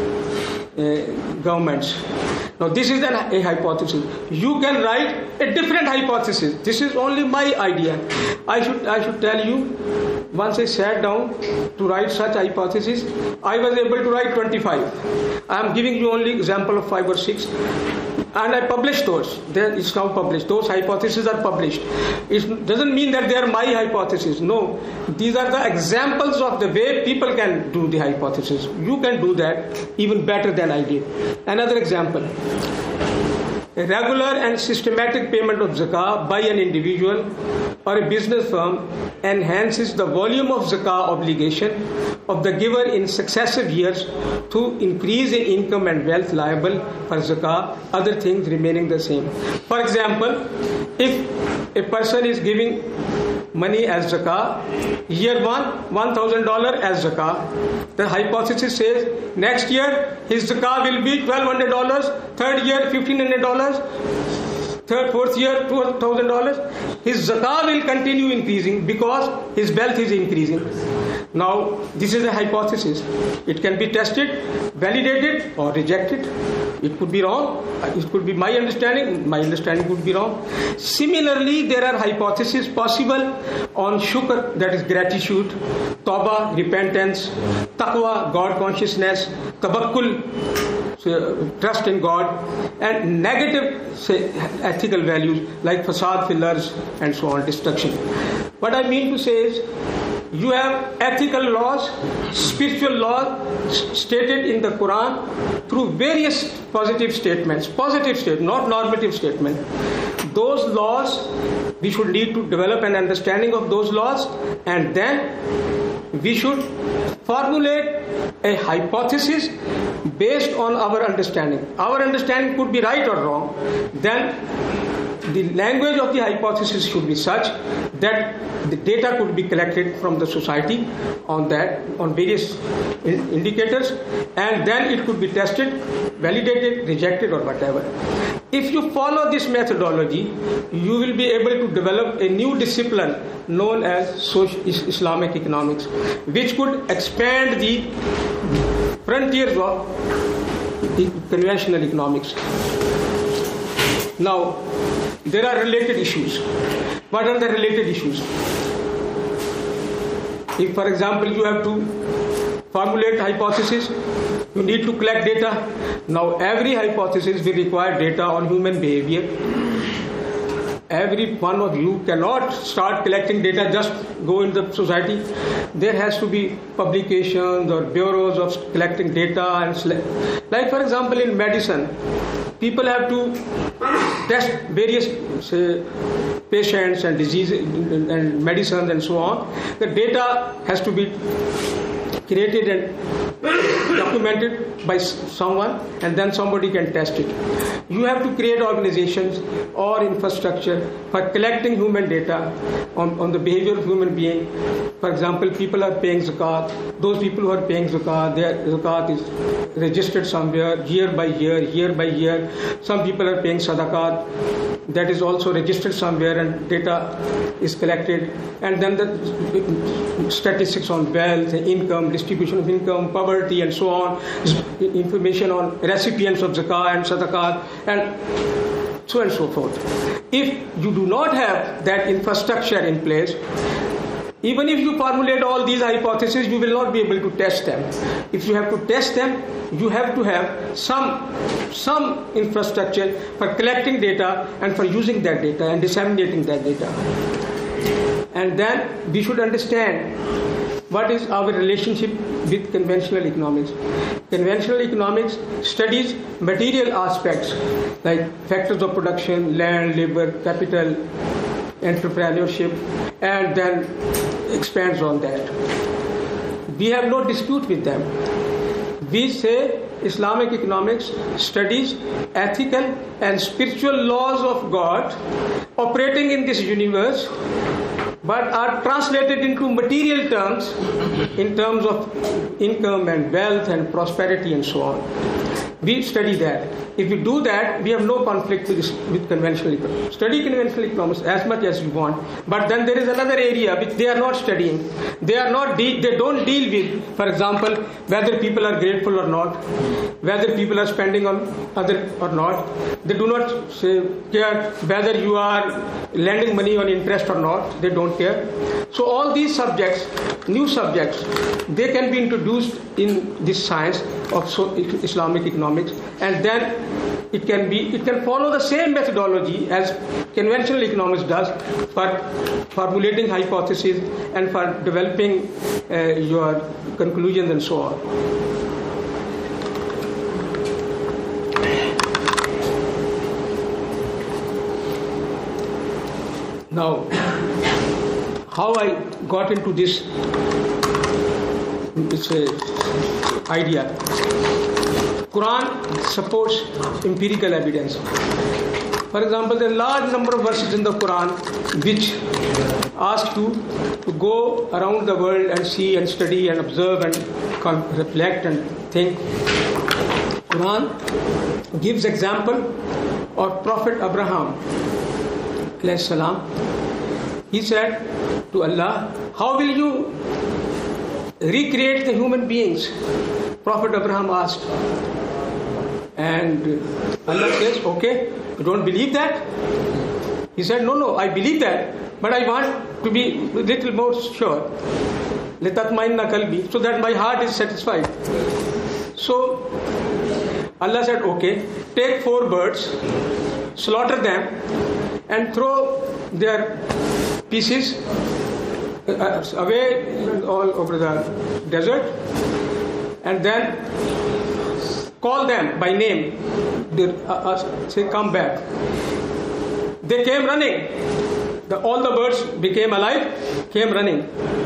uh, governments. Now this is an, a hypothesis. You can write a different hypothesis. This is only my idea. I should I should tell you, once I sat down to write such hypothesis, I was able to write twenty-five. I am giving you only example of five or six. And I published those. There it's now published. Those hypotheses are published. It doesn't mean that they are my hypotheses. No, these are the examples of the way people can do the hypothesis. You can do that even better than I did. Another example. A regular and systematic payment of zakah by an individual or a business firm enhances the volume of zakah obligation of the giver in successive years to increase in income and wealth liable for zakah, other things remaining the same. For example, if a person is giving money as zakah, year one, one thousand dollars as zakah, the hypothesis says next year his zakah will be twelve hundred dollars, third year fifteen hundred dollars, third, fourth year two thousand dollars. His zakah will continue increasing because his wealth is increasing. Now, this is a hypothesis. It can be tested, validated or rejected. It could be wrong. It could be my understanding. My understanding could be wrong. Similarly, there are hypotheses possible on shukr, that is gratitude, tawbah, repentance, taqwa, God consciousness, tawakkul, so, trust in God, and negative say, ethical values like fasad, fillers, and so on, destruction. What I mean to say is, you have ethical laws, spiritual laws stated in the Quran through various positive statements, positive statements, not normative statements. Those laws, we should need to develop an understanding of those laws, and then we should formulate a hypothesis based on our understanding. Our understanding could be right or wrong. Then the language of the hypothesis should be such that the data could be collected from the society on that, on various indicators, and then it could be tested, validated, rejected, or whatever. If you follow this methodology, you will be able to develop a new discipline known as social Islamic economics, which could expand the frontiers of the conventional economics. Now, there are related issues. What are the related issues? If, for example, you have to formulate hypothesis, you need to collect data. Now, every hypothesis will require data on human behavior. Every one of you cannot start collecting data, just go in the society. There has to be publications or bureaus of collecting data. And like, for example, in medicine, people have to test various, say, patients and diseases and medicines and so on. The data has to be created and documented by someone, and then somebody can test it. You have to create organizations or infrastructure for collecting human data on, on the behavior of human being. For example, people are paying zakat. Those people who are paying zakat, their zakat is registered somewhere year by year, year by year. Some people are paying sadaqat, that is also registered somewhere, and data is collected. And then the statistics on wealth, income, distribution of income, poverty, and so on, information on recipients of zakah and sadaqat, and so on and so forth. If you do not have that infrastructure in place, Even if you formulate all these hypotheses, you will not be able to test them. If you have to test them, you have to have some, some infrastructure for collecting data and for using that data and disseminating that data. And then we should understand what is our relationship with conventional economics. Conventional economics studies material aspects like factors of production, land, labor, capital, entrepreneurship, and then expands on that. We have no dispute with them. We say Islamic economics studies ethical and spiritual laws of God operating in this universe, but are translated into material terms in terms of income and wealth and prosperity and so on. We study that. If we do that, we have no conflict with, this, with conventional economics. Study conventional economics as much as you want, but then there is another area which they are not studying. They are not. De- they don't deal with, for example, whether people are grateful or not, whether people are spending on other or not. They do not say, care whether you are lending money on interest or not. They don't care. So all these subjects, new subjects, they can be introduced in this science of so Islamic economics, and then it can be it can follow the same methodology as conventional economics does for formulating hypotheses and for developing uh, your conclusions and so on. Now, how I got into this it's a idea. Quran supports empirical evidence. For example, there are a large number of verses in the Quran which ask you to go around the world and see and study and observe and reflect and think. Quran gives example of Prophet Abraham alayhi salam. He said to Allah, how will you recreate the human beings? Prophet Abraham asked. And Allah says, okay, you don't believe that? He said, no, no, I believe that, but I want to be a little more sure. لِتَطْمَئِنَّ قَلْبِي, so that my heart is satisfied. So Allah said, okay, take four birds, slaughter them, and throw their pieces away all over the desert, and then call them by name. They, uh, uh, say, come back. They came running. The, all the birds became alive, came running.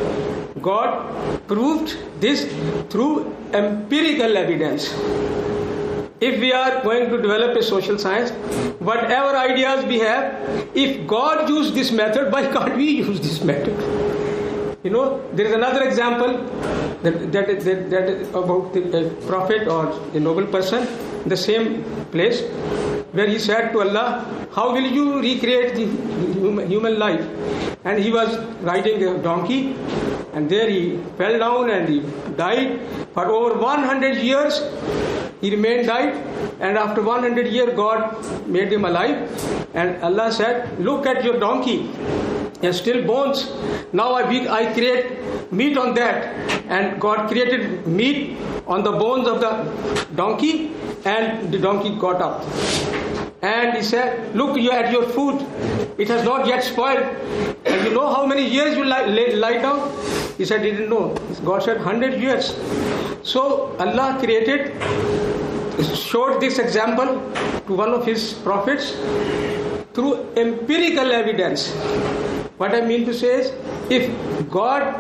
God proved this through empirical evidence. If we are going to develop a social science, whatever ideas we have, if God used this method, why can't we use this method? You know, there is another example that, that, that, that is about the prophet or a noble person in the same place where he said to Allah, how will you recreate the human life? And he was riding a donkey, and there he fell down and he died. For over one hundred years he remained died, and after one hundred years God made him alive, and Allah said, look at your donkey. There's still bones. Now I, I create meat on that. And God created meat on the bones of the donkey, and the donkey got up. And he said, look, you had your food. It has not yet spoiled. And you know how many years you lie, lie, lie down? He said, he didn't know. God said, one hundred years. So Allah created, showed this example to one of his prophets through empirical evidence. What I mean to say is, if God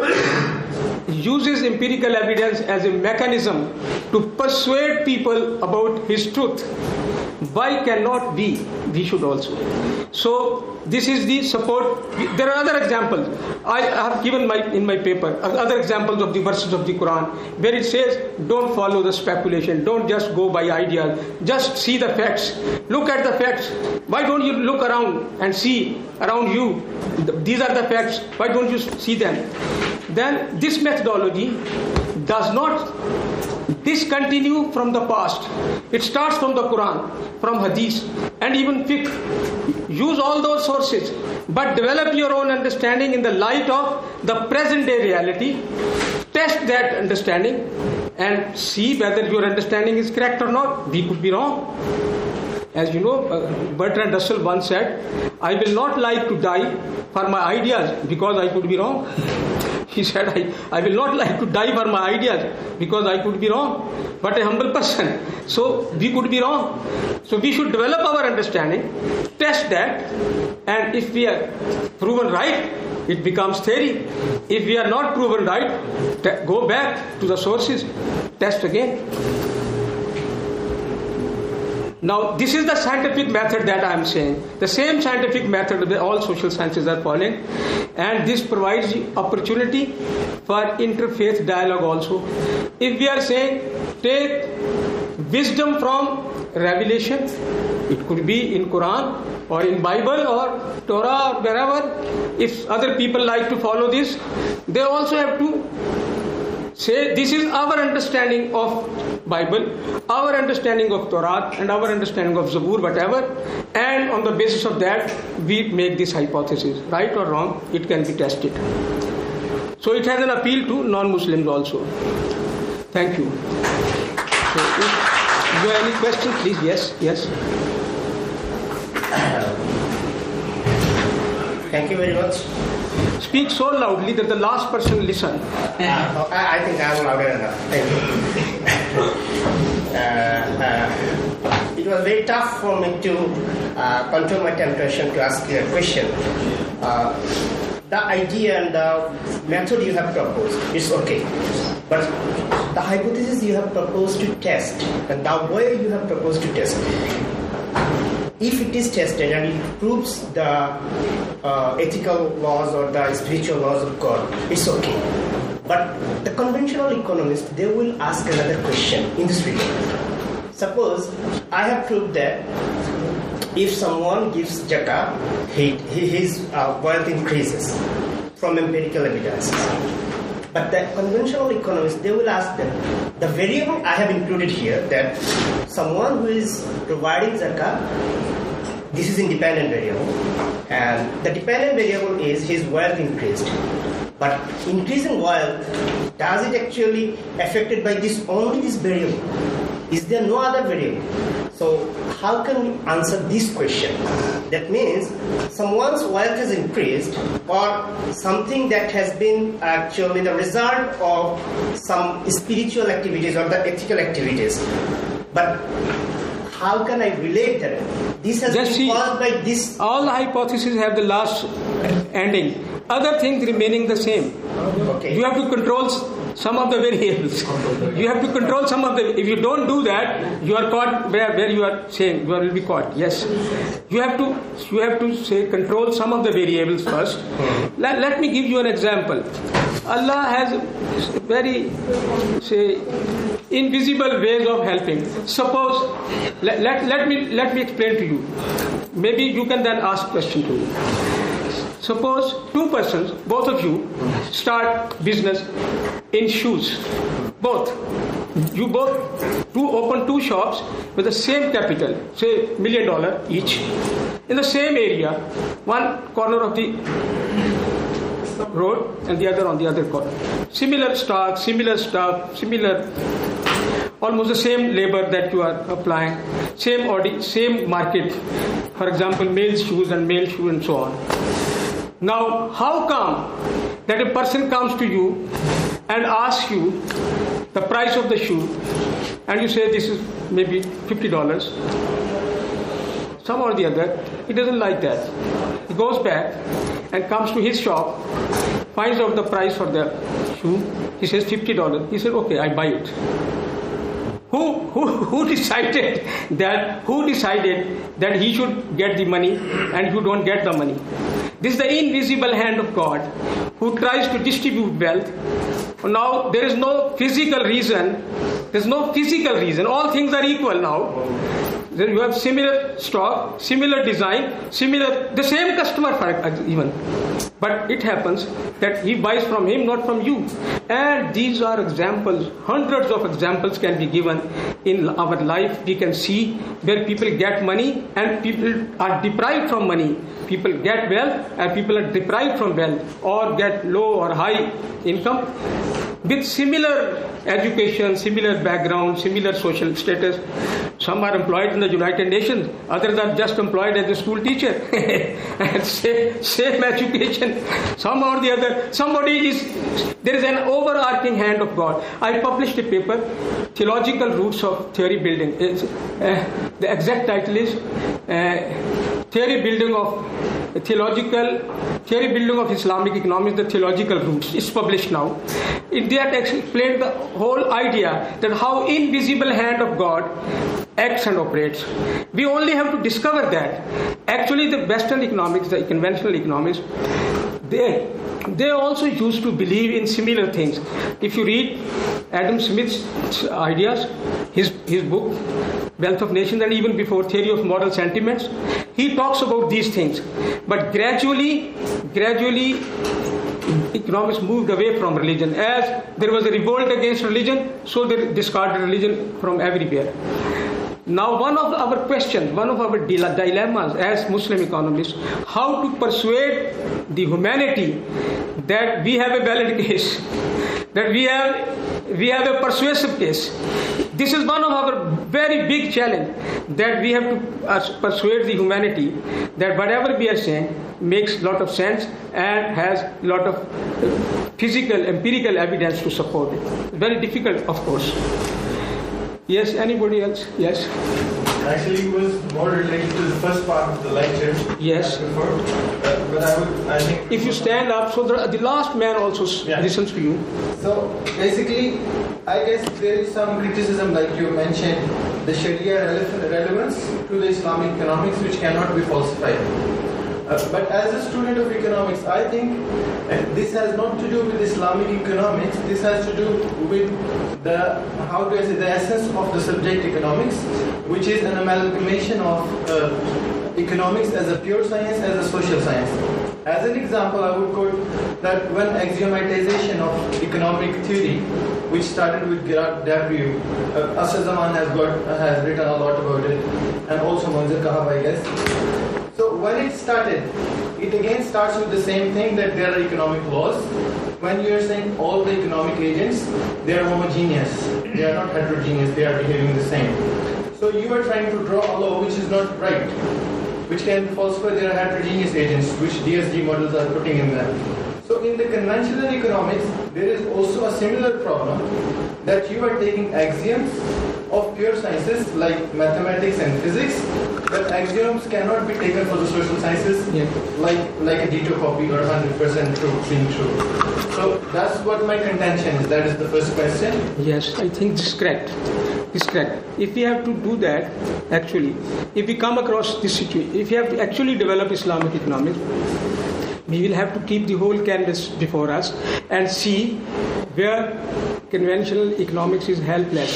uses empirical evidence as a mechanism to persuade people about His truth, why cannot we? We should also. So this is the support. There are other examples. I have given my in my paper other examples of the verses of the Quran where it says, don't follow the speculation, don't just go by ideas, just see the facts. Look at the facts. Why don't you look around and see around you? These are the facts. Why don't you see them? Then this methodology does not, this discontinue from the past. It starts from the Quran, from Hadith, and even fiqh. Use all those sources, but develop your own understanding in the light of the present day reality. Test that understanding and see whether your understanding is correct or not. We could be wrong. As you know, uh, Bertrand Russell once said, I will not like to die for my ideas because I could be wrong. He said, I, I will not like to die for my ideas because I could be wrong. But a humble person. So we could be wrong. So we should develop our understanding, test that, and if we are proven right, it becomes theory. If we are not proven right, te- go back to the sources, test again. Now, this is the scientific method that I am saying. The same scientific method that all social sciences are following. And this provides the opportunity for interfaith dialogue also. If we are saying, take wisdom from revelation, it could be in Quran or in Bible or Torah or wherever. If other people like to follow this, they also have to say, this is our understanding of Bible, our understanding of Torah, and our understanding of Zabur, whatever, and on the basis of that, we make this hypothesis. Right or wrong, it can be tested. So it has an appeal to non-Muslims also. Thank you. So if you have any questions, please, yes, yes. Thank you very much. Speak so loudly that the last person listen. Uh, I, I think I'm louder enough. Thank you. uh, uh, it was very tough for me to uh, control my temptation to ask you a question. Uh, the idea and the method you have proposed is okay, but the hypothesis you have proposed to test and the way you have proposed to test, if it is tested and it proves the uh, ethical laws or the spiritual laws of God, it's okay. But the conventional economists, they will ask another question in this regard. Suppose I have proved that if someone gives zakah, he, he, his uh, wealth increases from empirical evidences. But the conventional economists, they will ask them, the variable I have included here, that someone who is providing zakah, this is independent variable, and the dependent variable is his wealth increased. But increasing wealth, does it actually affected by this only this variable? Is there no other variable? So how can we answer this question? That means someone's wealth has increased, or something that has been actually the result of some spiritual activities or the ethical activities. But how can I relate that? This has Just been see, caused by this. All the hypotheses have the last ending. Other things remaining the same. Okay. You have to control some of the variables. You have to control some of the. If you don't do that, you are caught where, where you are saying you will be caught. Yes, you have to. You have to say control some of the variables first. Let, let me give you an example. Allah has very say invisible ways of helping. Suppose let, let, let me let me explain to you. Maybe you can then ask question to me. Suppose two persons, both of you, start business in shoes. Both. You both two open two shops with the same capital, say million dollar each, in the same area, one corner of the road and the other on the other corner. Similar stock, similar stuff, similar, almost the same labor that you are applying, same audi- same market. For example, male shoes and male shoes and so on. Now, how come that a person comes to you and asks you the price of the shoe, and you say this is maybe fifty dollars? Some or the other, he doesn't like that. He goes back and comes to his shop, finds out the price for the shoe. He says fifty dollars. He said, okay, I buy it. Who, who, who decided that, who decided that he should get the money and you don't get the money? This is the invisible hand of God who tries to distribute wealth. Now, there is no physical reason. There is no physical reason. All things are equal now. Then you have similar stock, similar design, similar, the same customer for even. But it happens that he buys from him, not from you. And these are examples, hundreds of examples can be given in our life. We can see where people get money and people are deprived from money. People get wealth and people are deprived from wealth, or get low or high income with similar education, similar background, similar social status. Some are employed in the United Nations, others are just employed as a school teacher. And same, same education, somehow or the other, somebody is, there is an overarching hand of God. I published a paper, Theological Roots of Theory Building. It's, uh, the exact title is uh, Theory Building of Theological Theory Building of Islamic Economics, the Theological Roots. It's published now. In that explained the whole idea that how invisible hand of God acts and operates. We only have to discover that. Actually, the Western economics, the conventional economics, they they also used to believe in similar things. If you read Adam Smith's ideas, his his book Wealth of Nations, and even before Theory of Moral Sentiments, he talks about these things. But gradually, gradually, economics moved away from religion. As there was a revolt against religion, so they discarded religion from everywhere. Now, one of our questions, one of our dilemmas as Muslim economists, how to persuade the humanity that we have a valid case, that we have we have a persuasive case. This is one of our very big challenge, that we have to uh, persuade the humanity that whatever we are saying makes a lot of sense and has a lot of physical, empirical evidence to support it. Very difficult, of course. Yes, anybody else? Yes. Actually, it was more related to the first part of the lecture. Yes. Before, uh, but I would, I think. If you stand up, so the, the last man also Yeah. listens to you. So basically, I guess there is some criticism, like you mentioned, the Sharia rele- relevance to the Islamic economics, which cannot be falsified. Uh, but as a student of economics, I think uh, this has not to do with Islamic economics. This has to do with the, how do I say, the essence of the subject economics, which is an amalgamation of uh, economics as a pure science, as a social science. As an example, I would quote that when axiomatization of economic theory, which started with Gerard Debreu, uh, Asr Zaman has got has written a lot about it, and also Munzir Kahab, I guess. So when it started, it again starts with the same thing, that there are economic laws. When you are saying all the economic agents, they are homogeneous, they are not heterogeneous, they are behaving the same. So you are trying to draw a law which is not right, which can falsify their heterogeneous agents, which D S G models are putting in there. So in the conventional economics, there is also a similar problem, that you are taking axioms of pure sciences like mathematics and physics, but axioms cannot be taken for the social sciences, Yeah. like like a ditto copy or one hundred percent true being true. So that's what my contention is. That is the first question. Yes, I think this is correct. This is correct. If we have to do that, actually, if we come across this situation, if we have to actually develop Islamic economics, we will have to keep the whole canvas before us and see where conventional economics is helpless,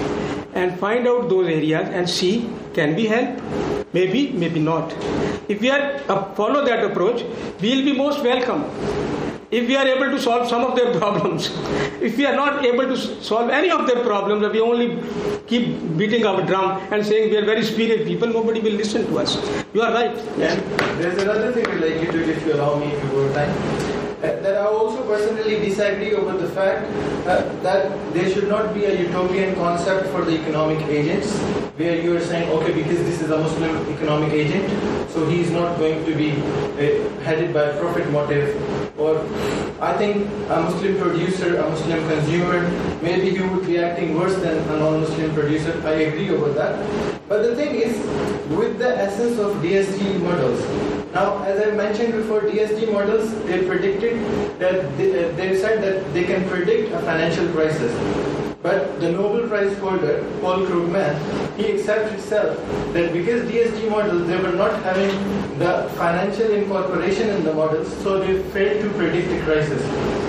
and find out those areas and see, can we help? Maybe, maybe not. If we are uh, follow that approach, we will be most welcome. If we are able to solve some of their problems, if we are not able to solve any of their problems, we only keep beating our drum and saying we are very superior people, nobody will listen to us. You are right. And there's another thing related to it, if you allow me, if you go time. Uh, that I also personally disagree over the fact uh, that there should not be a utopian concept for the economic agents, where you are saying, okay, because this is a Muslim economic agent, so he is not going to be uh, headed by a profit motive. Or I think a Muslim producer, a Muslim consumer, maybe he would be acting worse than a non-Muslim producer. I agree over that. But the thing is, with the essence of D S G models, now, as I mentioned before, D S G models, they predicted that they, uh, they said that they can predict a financial crisis. But the Nobel Prize holder, Paul Krugman, he accepts himself that because D S G models, they were not having the financial incorporation in the models, so they failed to predict the crisis. So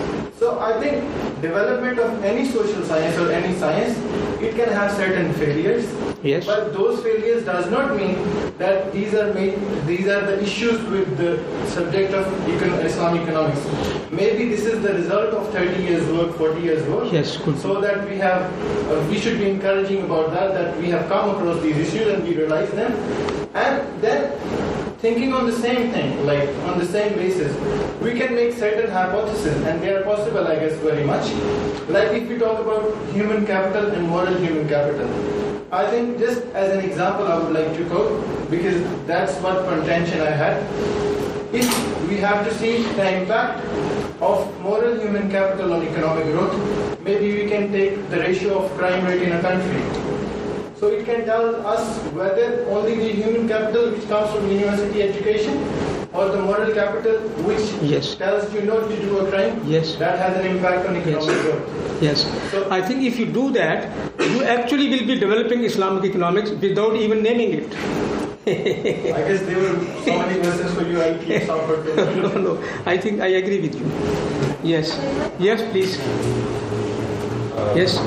So I think development of any social science or any science, it can have certain failures. Yes. But those failures does not mean that these are made, these are the issues with the subject of econ- Islamic economics. Maybe this is the result of thirty years work, forty years work. Yes, good. So that we have, uh, we should be encouraging about that, that we have come across these issues and we realize them. And then thinking on the same thing, like on the same basis, we can make certain hypotheses, and they are possible, I guess, very much. Like if we talk about human capital and moral human capital, I think just as an example I would like to quote, because that's what contention I had. If we have to see the impact of moral human capital on economic growth, maybe we can take the ratio of crime rate in a country. So it can tell us whether only the human capital which comes from university education or the moral capital which Yes. tells you not to do a crime, Yes. that has an impact on economic Yes. growth. Yes. So- I think if you do that, you actually will be developing Islamic economics without even naming it. I guess there were so many questions for you, I'll keep some for No, no. I think I agree with you. Yes. Yes, please. Yes.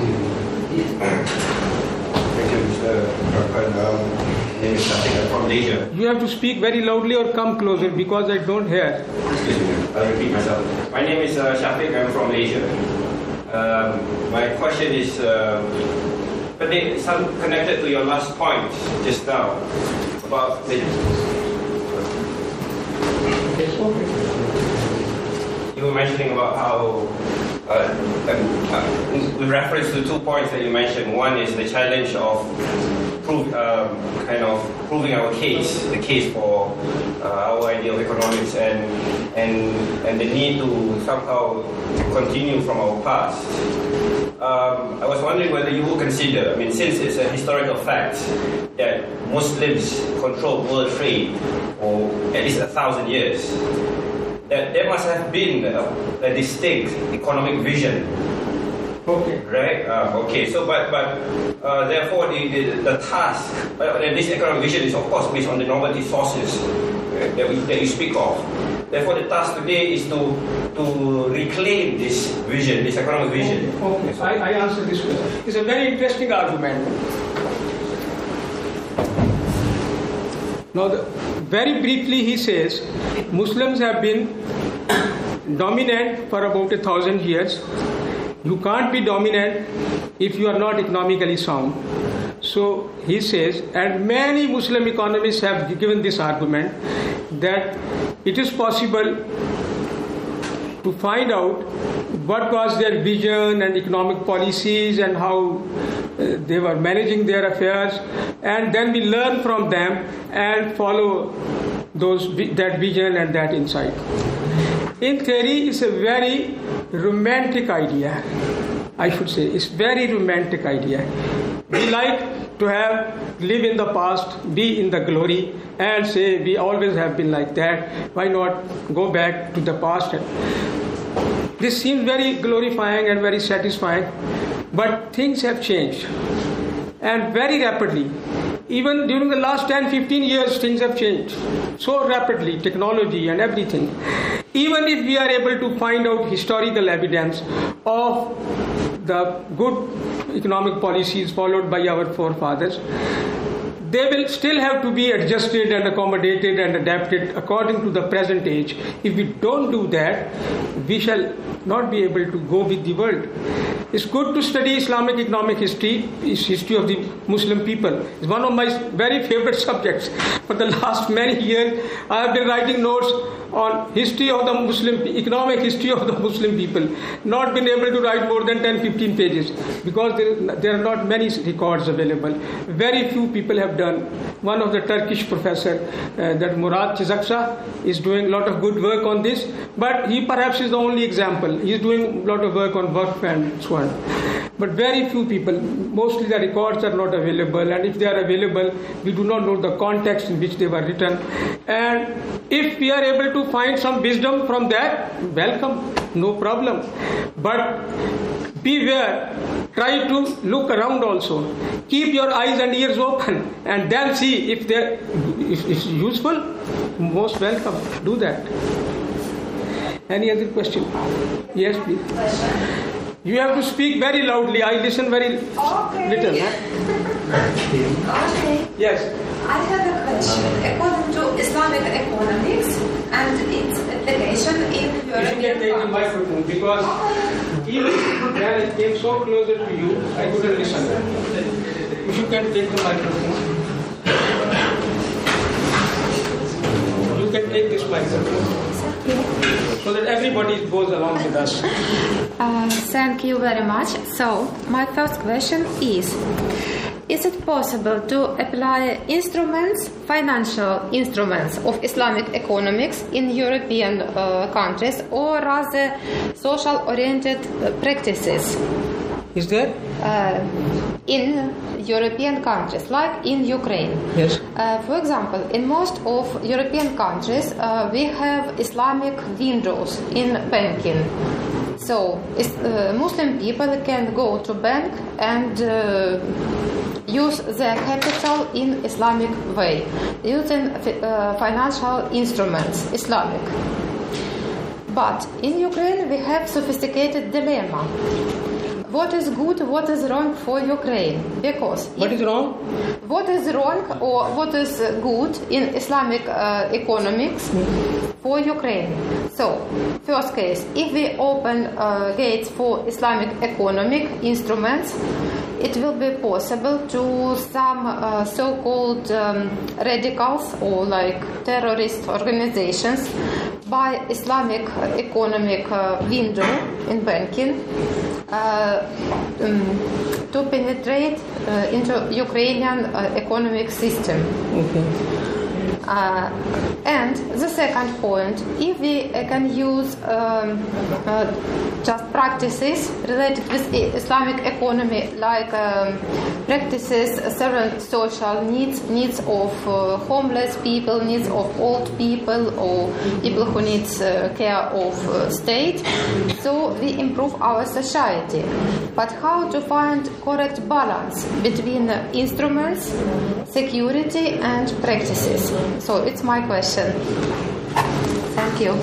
Thank you, Mister Rahman. Um, my name is Shafiq. I'm from Malaysia. You have to speak very loudly or come closer because I don't hear. Excuse me, I'll repeat myself. My name is uh, Shafiq. I'm from Malaysia. Um, my question is uh, but they, some connected to your last point just now about the. You were mentioning about how. Uh, um, uh, with reference to two points that you mentioned, one is the challenge of prove, um, kind of proving our case, the case for uh, our idea of economics, and and and the need to somehow continue from our past. Um, I was wondering whether you would consider, I mean, since it's a historical fact that Muslims control world trade for at least a thousand years, that there must have been a, a distinct economic vision. Okay. Right? Uh, okay. So, but but uh, therefore, the, the, the task, uh, this economic vision is of course based on the normative sources uh, that we that you speak of. Therefore, the task today is to to reclaim this vision, this economic vision. Okay. I, I answer this question. It's a very interesting argument. Now, the, very briefly, he says Muslims have been dominant for about a thousand years. You can't be dominant if you are not economically sound. So he says, and many Muslim economists have given this argument that it is possible to find out what was their vision and economic policies and how uh, they were managing their affairs, and then we learn from them and follow those that vision and that insight. In theory, it's a very romantic idea. I should say it's very romantic idea. We like to have live in the past, be in the glory, and say we always have been like that. Why not go back to the past? This seems very glorifying and very satisfying, but things have changed, and very rapidly. Even during the last ten to fifteen years, things have changed so rapidly, technology and everything. Even if we are able to find out historical evidence of the good economic policies followed by our forefathers, they will still have to be adjusted and accommodated and adapted according to the present age. If we don't do that, we shall not be able to go with the world. It's good to study Islamic economic history, it's history of the Muslim people. It's one of my very favorite subjects. For the last many years, I have been writing notes on history of the Muslim, economic history of the Muslim people. Not been able to write more than ten to fifteen pages because there, there are not many records available. Very few people have done. One of the Turkish professor, uh, that Murat Çizaksa, is doing a lot of good work on this, but he perhaps is the only example. He is doing a lot of work on Waqf and so on. But very few people, mostly the records are not available, and if they are available, we do not know the context in which they were written. And if we are able to find some wisdom from that, welcome, no problem. But beware, try to look around also. Keep your eyes and ears open, and then see if they if it's useful. Most welcome, do that. Any other question? Yes, please. You have to speak very loudly. I listen very Okay. little. Huh? Okay. Yes. I have a question. According to Islamic economics and its application in If you can European take the countries. microphone, because even when I came so closer to you, I couldn't listen. If you can take the microphone. You can take this microphone so that everybody goes along with us. Uh, thank you very much. So, my first question is, is it possible to apply instruments, financial instruments of Islamic economics in European uh, countries, or rather social-oriented uh, practices Is there? uh, in European countries, like in Ukraine? Yes. Uh, for example, in most of European countries, uh, we have Islamic windows in banking. So, is, uh, Muslim people can go to bank and uh, use their capital in Islamic way, using uh, financial instruments, Islamic. But in Ukraine, we have sophisticated dilemma. What is good, what is wrong for Ukraine? Because What if- is wrong? what is wrong or what is good in Islamic uh, economics for Ukraine? So, first case, if we open uh, gates for Islamic economic instruments, it will be possible to some uh, so-called um, radicals or like terrorist organizations buy Islamic economic uh, window in banking uh, um, to penetrate uh, into Ukrainian uh, economic system. Okay. Uh, and the second point, if we uh, can use um, uh, just practices related with I- Islamic economy, like um, practices serving social needs, needs of uh, homeless people, needs of old people, or people who need uh, care of uh, state, so we improve our society. But how to find correct balance between uh, instruments, security, and practices? So it's my question. Thank you.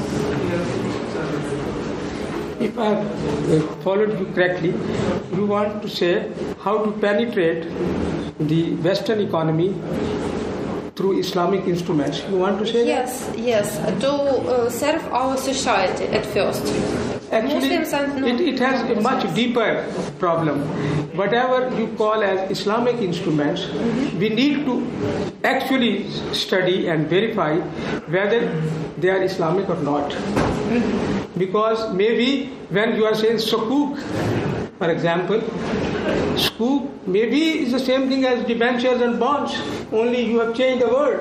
If I have uh, followed you correctly, you want to say how to penetrate the Western economy through Islamic instruments. You want to say Yes, yes, to uh, serve our society at first. that? Actually, Muslims and it, it has a much non-Muslims. deeper problem. Whatever you call as Islamic instruments, we need to actually study and verify whether they are Islamic or not. Because maybe when you are saying sukuk, for example, sukuk maybe is the same thing as debentures and bonds, only you have changed the word.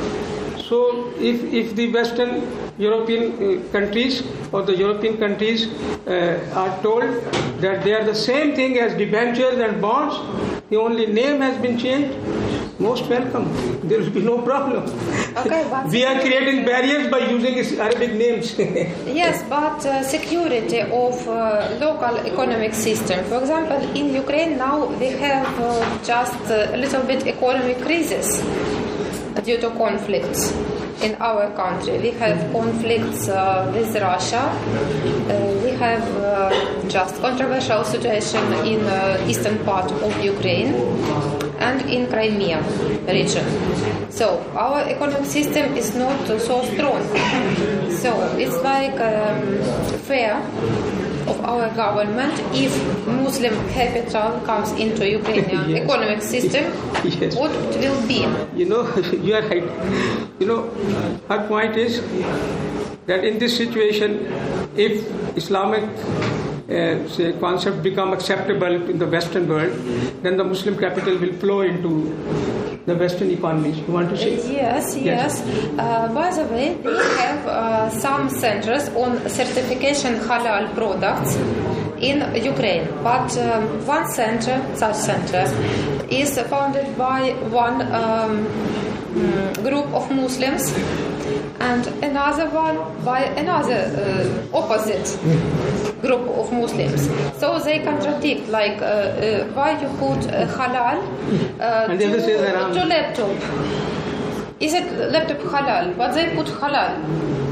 So if, if the Western European uh, countries or the European countries uh, are told that they are the same thing as debentures and bonds, the only name has been changed, most welcome. There will be no problem. Okay, but We are creating barriers by using Arabic names. Yes, but uh, security of uh, local economic system. For example, in Ukraine now we have uh, just a little bit economic crisis due to conflicts in our country. We have conflicts uh, with Russia. Uh, we have uh, just controversial situation in uh, eastern part of Ukraine and in Crimea region. So our economic system is not uh, so strong. So it's like um, fair of our government if Muslim capital comes into Ukrainian Yes. economic system, Yes. what it will be? You know, you are right. You know, her point is that in this situation, if Islamic uh, say concept become acceptable in the Western world, then the Muslim capital will flow into the Western economies. You want to say? Yes, yes. Uh, by the way, we have uh, some centers on certification halal products in Ukraine. But um, one center, such center, is founded by one um, mm, group of Muslims and another one by another uh, opposite group of Muslims. So they contradict, like uh, uh, why you put uh, halal uh, And the other says haram. to, to laptop. Is it laptop halal? But they put halal.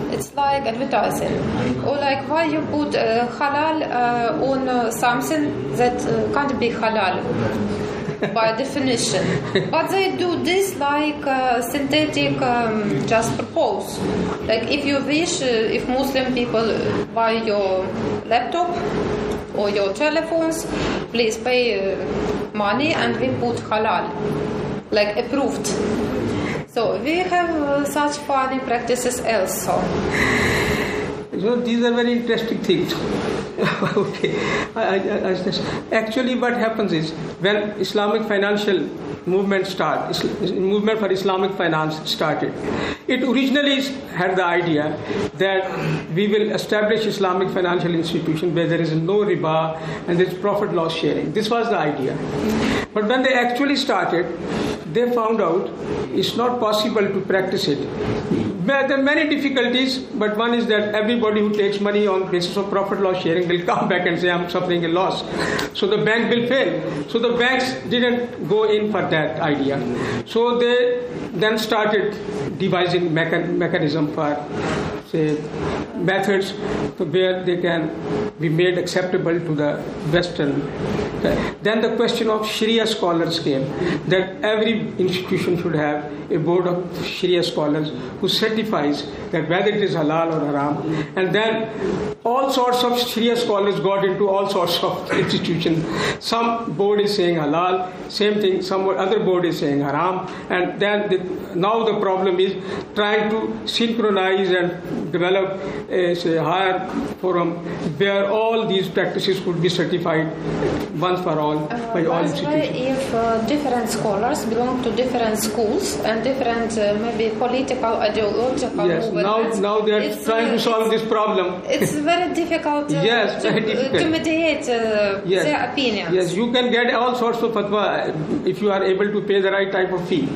it's like advertising. Or like why you put uh, halal uh, on uh, something that uh, can't be halal by definition. But they do this like uh, synthetic um, just purpose. Like if you wish, uh, if Muslim people buy your laptop or your telephones, please pay uh, money and we put halal, like approved. So we have uh, such funny practices also. You know, these are very interesting things. Okay, I, I, I, just, actually, what happens is when Islamic financial movement start, movement for Islamic finance started, it originally had the idea that we will establish Islamic financial institution where there is no riba and there is profit loss sharing. This was the idea. But when they actually started, they found out it's not possible to practice it. There are many difficulties, but one is that everybody who takes money on basis of profit loss sharing will come back and say, I'm suffering a loss. So the bank will fail. So the banks didn't go in for that idea. So they then started devising mecha- mechanism for, say, methods where they can be made acceptable to the Western. Then the question of Sharia scholars came, that every institution should have a board of Sharia scholars who certifies that whether it is halal or haram. And then all sorts of Sharia scholars got into all sorts of institutions. Some board is saying halal, same thing, some other board is saying haram. And then the, now the problem is trying to synchronize and develop a say, higher forum where all these practices could be certified once for all Uh, by all by the way, institutions. if uh, different scholars belong to different schools and different uh, maybe political, ideological Yes, now movements, now they are it's, trying uh, to solve it's- this problem. It's very difficult uh, Yes, to, very difficult. to mediate uh, Yes. their opinions. Yes, you can get all sorts of fatwa if you are able to pay the right type of fee.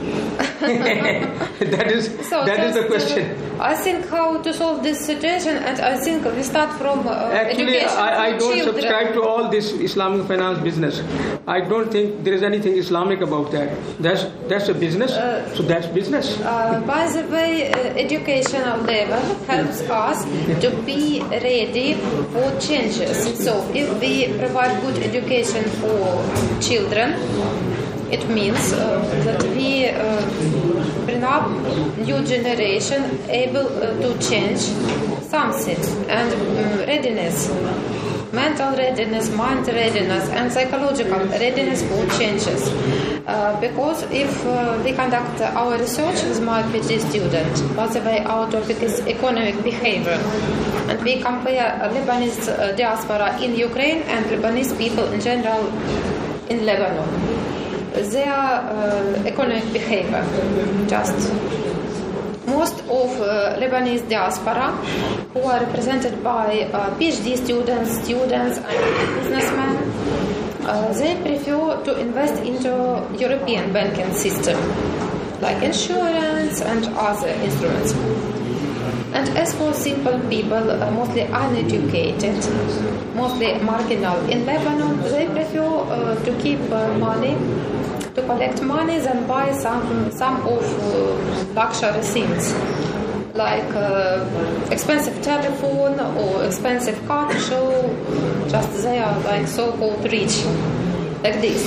that is So that is just, the question. Uh, I think how to solve this situation, and I think we start from uh, Actually, education I, I for don't children. subscribe to all this Islamic finance business. I don't think there is anything Islamic about that. That's that's a business. So that's business. Uh, by the way, uh, educational level helps us to be ready for changes. So if we provide good education for children, it means uh, that we uh, bring up new generation able uh, to change something, and um, readiness, mental readiness, mind readiness, and psychological readiness for changes. Uh, because if uh, we conduct our research with my PhD student, by the way, our topic is economic behavior, and we compare uh, Lebanese uh, diaspora in Ukraine and Lebanese people in general in Lebanon, their uh, economic behavior, just most of uh, Lebanese diaspora, who are represented by uh, PhD students, students and businessmen, uh, they prefer to invest into European banking system, like insurance and other instruments. And as for simple people, uh, mostly uneducated, mostly marginal in Lebanon, they prefer uh, to keep uh, money, to collect money, than buy some some of uh, luxury things, like uh, expensive telephone or expensive car show. Just they are like so-called rich, like this.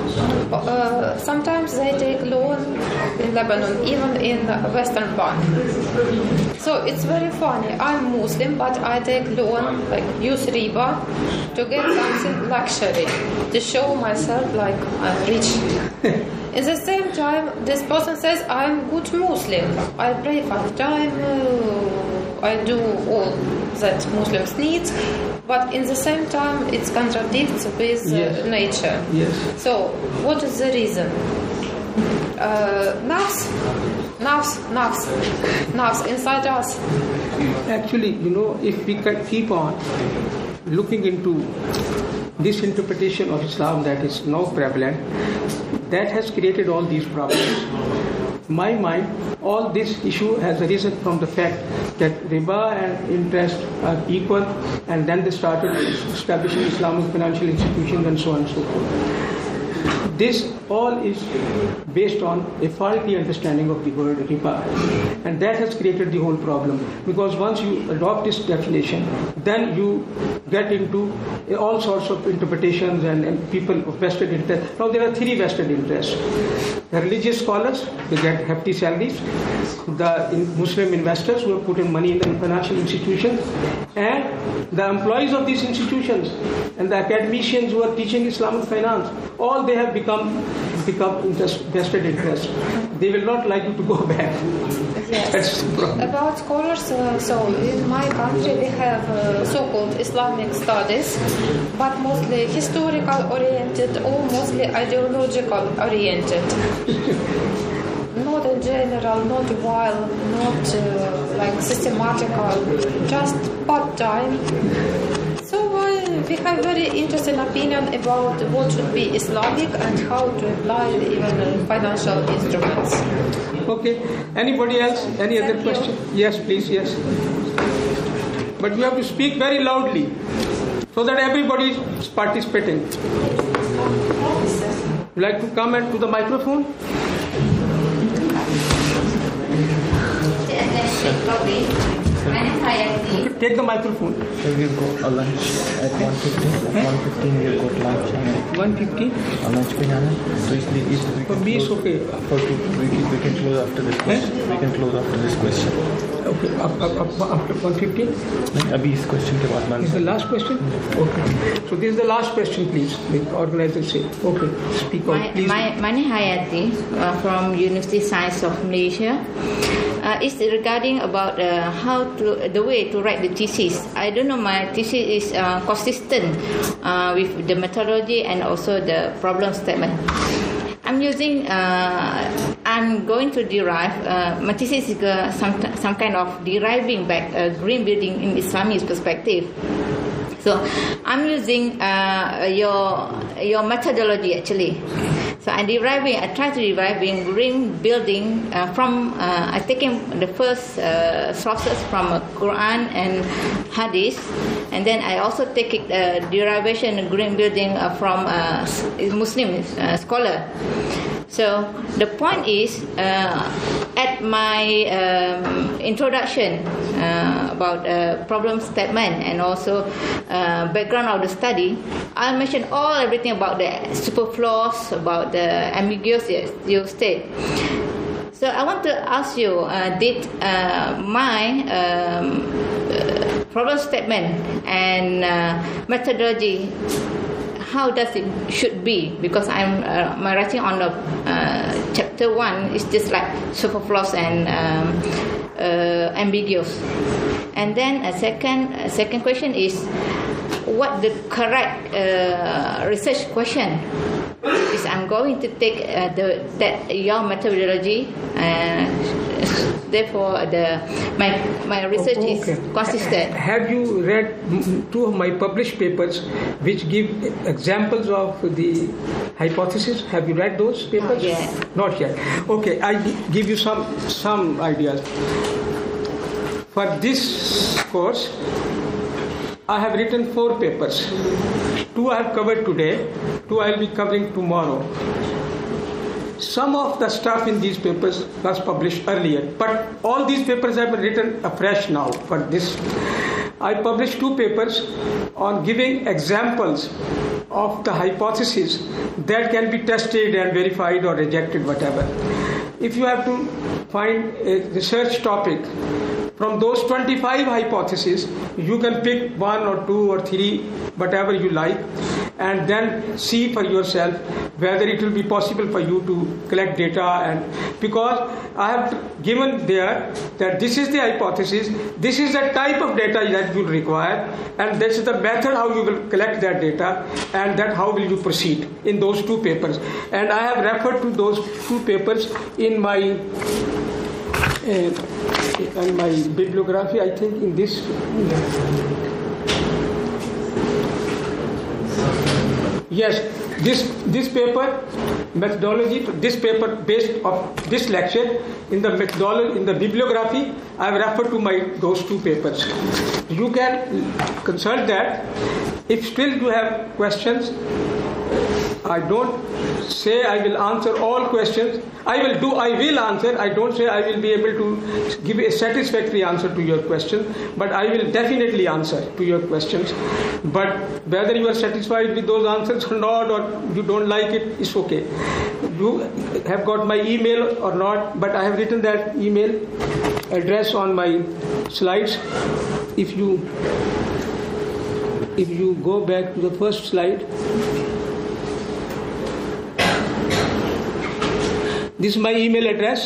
Uh, sometimes they take loan in Lebanon, even in Western bank. So it's very funny. I'm Muslim, but I take loan, like use riba, to get something luxury, to show myself like I'm rich. In the same time, this person says I'm good Muslim. I pray five times. Uh, I do all that Muslims need. But in the same time, it contradicts with uh, Yes. nature. Yes. So, what is the reason? Uh, nafs, nafs, nafs, nafs inside us. Actually, you know, if we can keep on looking into this interpretation of Islam that is now prevalent, that has created all these problems. In my mind, all this issue has arisen from the fact that riba and interest are equal, and then they started establishing Islamic financial institutions and so on and so forth. This all is based on a faulty understanding of the word riba, and that has created the whole problem. Because once you adopt this definition, then you get into all sorts of interpretations and, and people of vested interest. Now there are three vested interests: the religious scholars, they get hefty salaries; the Muslim investors who have put in money in the financial institutions, and the employees of these institutions, and the academicians who are teaching Islamic finance. All they have become become interest, vested interest. They will not like you to go back. Yes. About scholars, uh, so in my country we have uh, so-called Islamic studies, but mostly historical oriented or mostly ideological oriented. Not in general, not wild, not uh, like systematical, just part-time. So uh, we have very interesting opinion about what should be Islamic and how to apply even uh, financial instruments. Okay. Anybody else? Any Thank other you. question? Yes, please. Yes. But you have to speak very loudly so that everybody is participating. Would you like to come and to the microphone? Okay, take the microphone. So we'll go a lunch at one fifteen. one fifteen we'll go to lunch. one fifty. A lunch पे जाना है. So इसलिए इस we For can me, it's close- okay. For two, we can, we can close after this question. We can close after this question. Okay, up, up, up, after one fifty. नहीं, अभी इस question के बाद lunch. Is the last question? Okay. So this is the last question, please. The organizer say. Okay. Speak out, My, please. my, my name is Hayati uh, from University Science of Malaysia. Uh, it's regarding about uh, how to the way to write the thesis. I don't know, my thesis is uh, consistent uh, with the methodology and also the problem statement. I'm using. Uh, I'm going to derive. Uh, my thesis is uh, some some kind of deriving back uh, green building in Islamic perspective. So I'm using uh, your your methodology actually. So I'm deriving. I try to deriving green building uh, from. Uh, I taking the first uh, sources from uh, Quran and Hadith, and then I also take it, uh, derivation green building uh, from uh, Muslim uh, scholar. So the point is, uh, at my um, introduction uh, about uh, problem statement and also uh, background of the study, I mentioned all everything about the superfluous, about the ambiguous you state. So I want to ask you, uh, did uh, my um, uh, problem statement and uh, methodology, how does it should be? Because I'm uh, my writing on the uh, chapter one is just like superfluous and um, uh, ambiguous. And then a second a second question is, what the correct uh, research question? Is I'm going to take uh, the that your methodology and therefore the my my research Oh, is consistent. Have you read two of my published papers which give examples of the hypothesis? Have you read those papers? Not yet. Not yet. Okay, I give you some some ideas. For this course, I have written four papers. Two I have covered today, two I will be covering tomorrow. Some of the stuff in these papers was published earlier, but all these papers have been written afresh now for this. I published two papers on giving examples of the hypotheses that can be tested and verified or rejected, whatever. If you have to find a research topic, from those twenty-five hypotheses, you can pick one or two or three, whatever you like, and then see for yourself whether it will be possible for you to collect data. And because I have given there that this is the hypothesis, this is the type of data that you require, and this is the method how you will collect that data, and that how will you proceed in those two papers. And I have referred to those two papers in my uh, in my bibliography, I think in this. Yes, this this paper methodology, this paper based on this lecture in the methodology in the bibliography, I have referred to my those two papers. You can consult that. If still you have questions, I don't say I will answer all questions. I will do, I will answer. I don't say I will be able to give a satisfactory answer to your question, but I will definitely answer to your questions. But whether you are satisfied with those answers or not, or you don't like it, it's okay. You have got my email or not, but I have written that email address on my slides. If you if you go back to the first slide, this is my email address.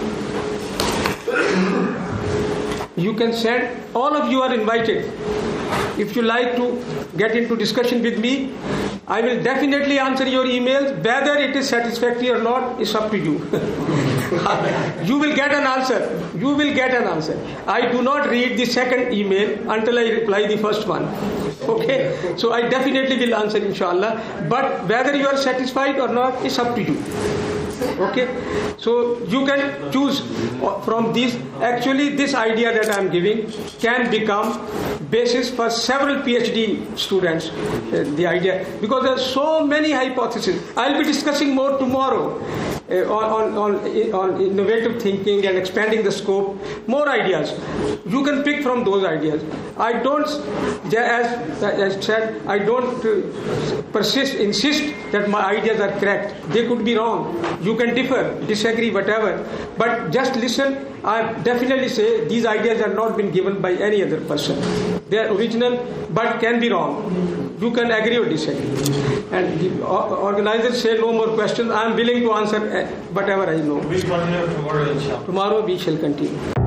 You can send, all of you are invited. If you like to get into discussion with me, I will definitely answer your emails. Whether it is satisfactory or not, is up to you. You will get an answer. You will get an answer. I do not read the second email until I reply the first one. Okay? So I definitely will answer, inshallah. But whether you are satisfied or not, is up to you. Okay, so you can choose from these. Actually, this idea that I am giving can become basis for several PhD students. Uh, the idea, because there are so many hypotheses. I'll be discussing more tomorrow uh, on, on, on, on innovative thinking and expanding the scope. More ideas. You can pick from those ideas. I don't, as I said, I don't uh, persist, insist that my ideas are correct. They could be wrong. You can differ, disagree, whatever. But just listen. I definitely say these ideas have not been given by any other person. They are original, but can be wrong. You can agree or disagree. And the organizers say no more questions. I am willing to answer whatever I know. We'll continue tomorrow, inshallah. Tomorrow we shall continue.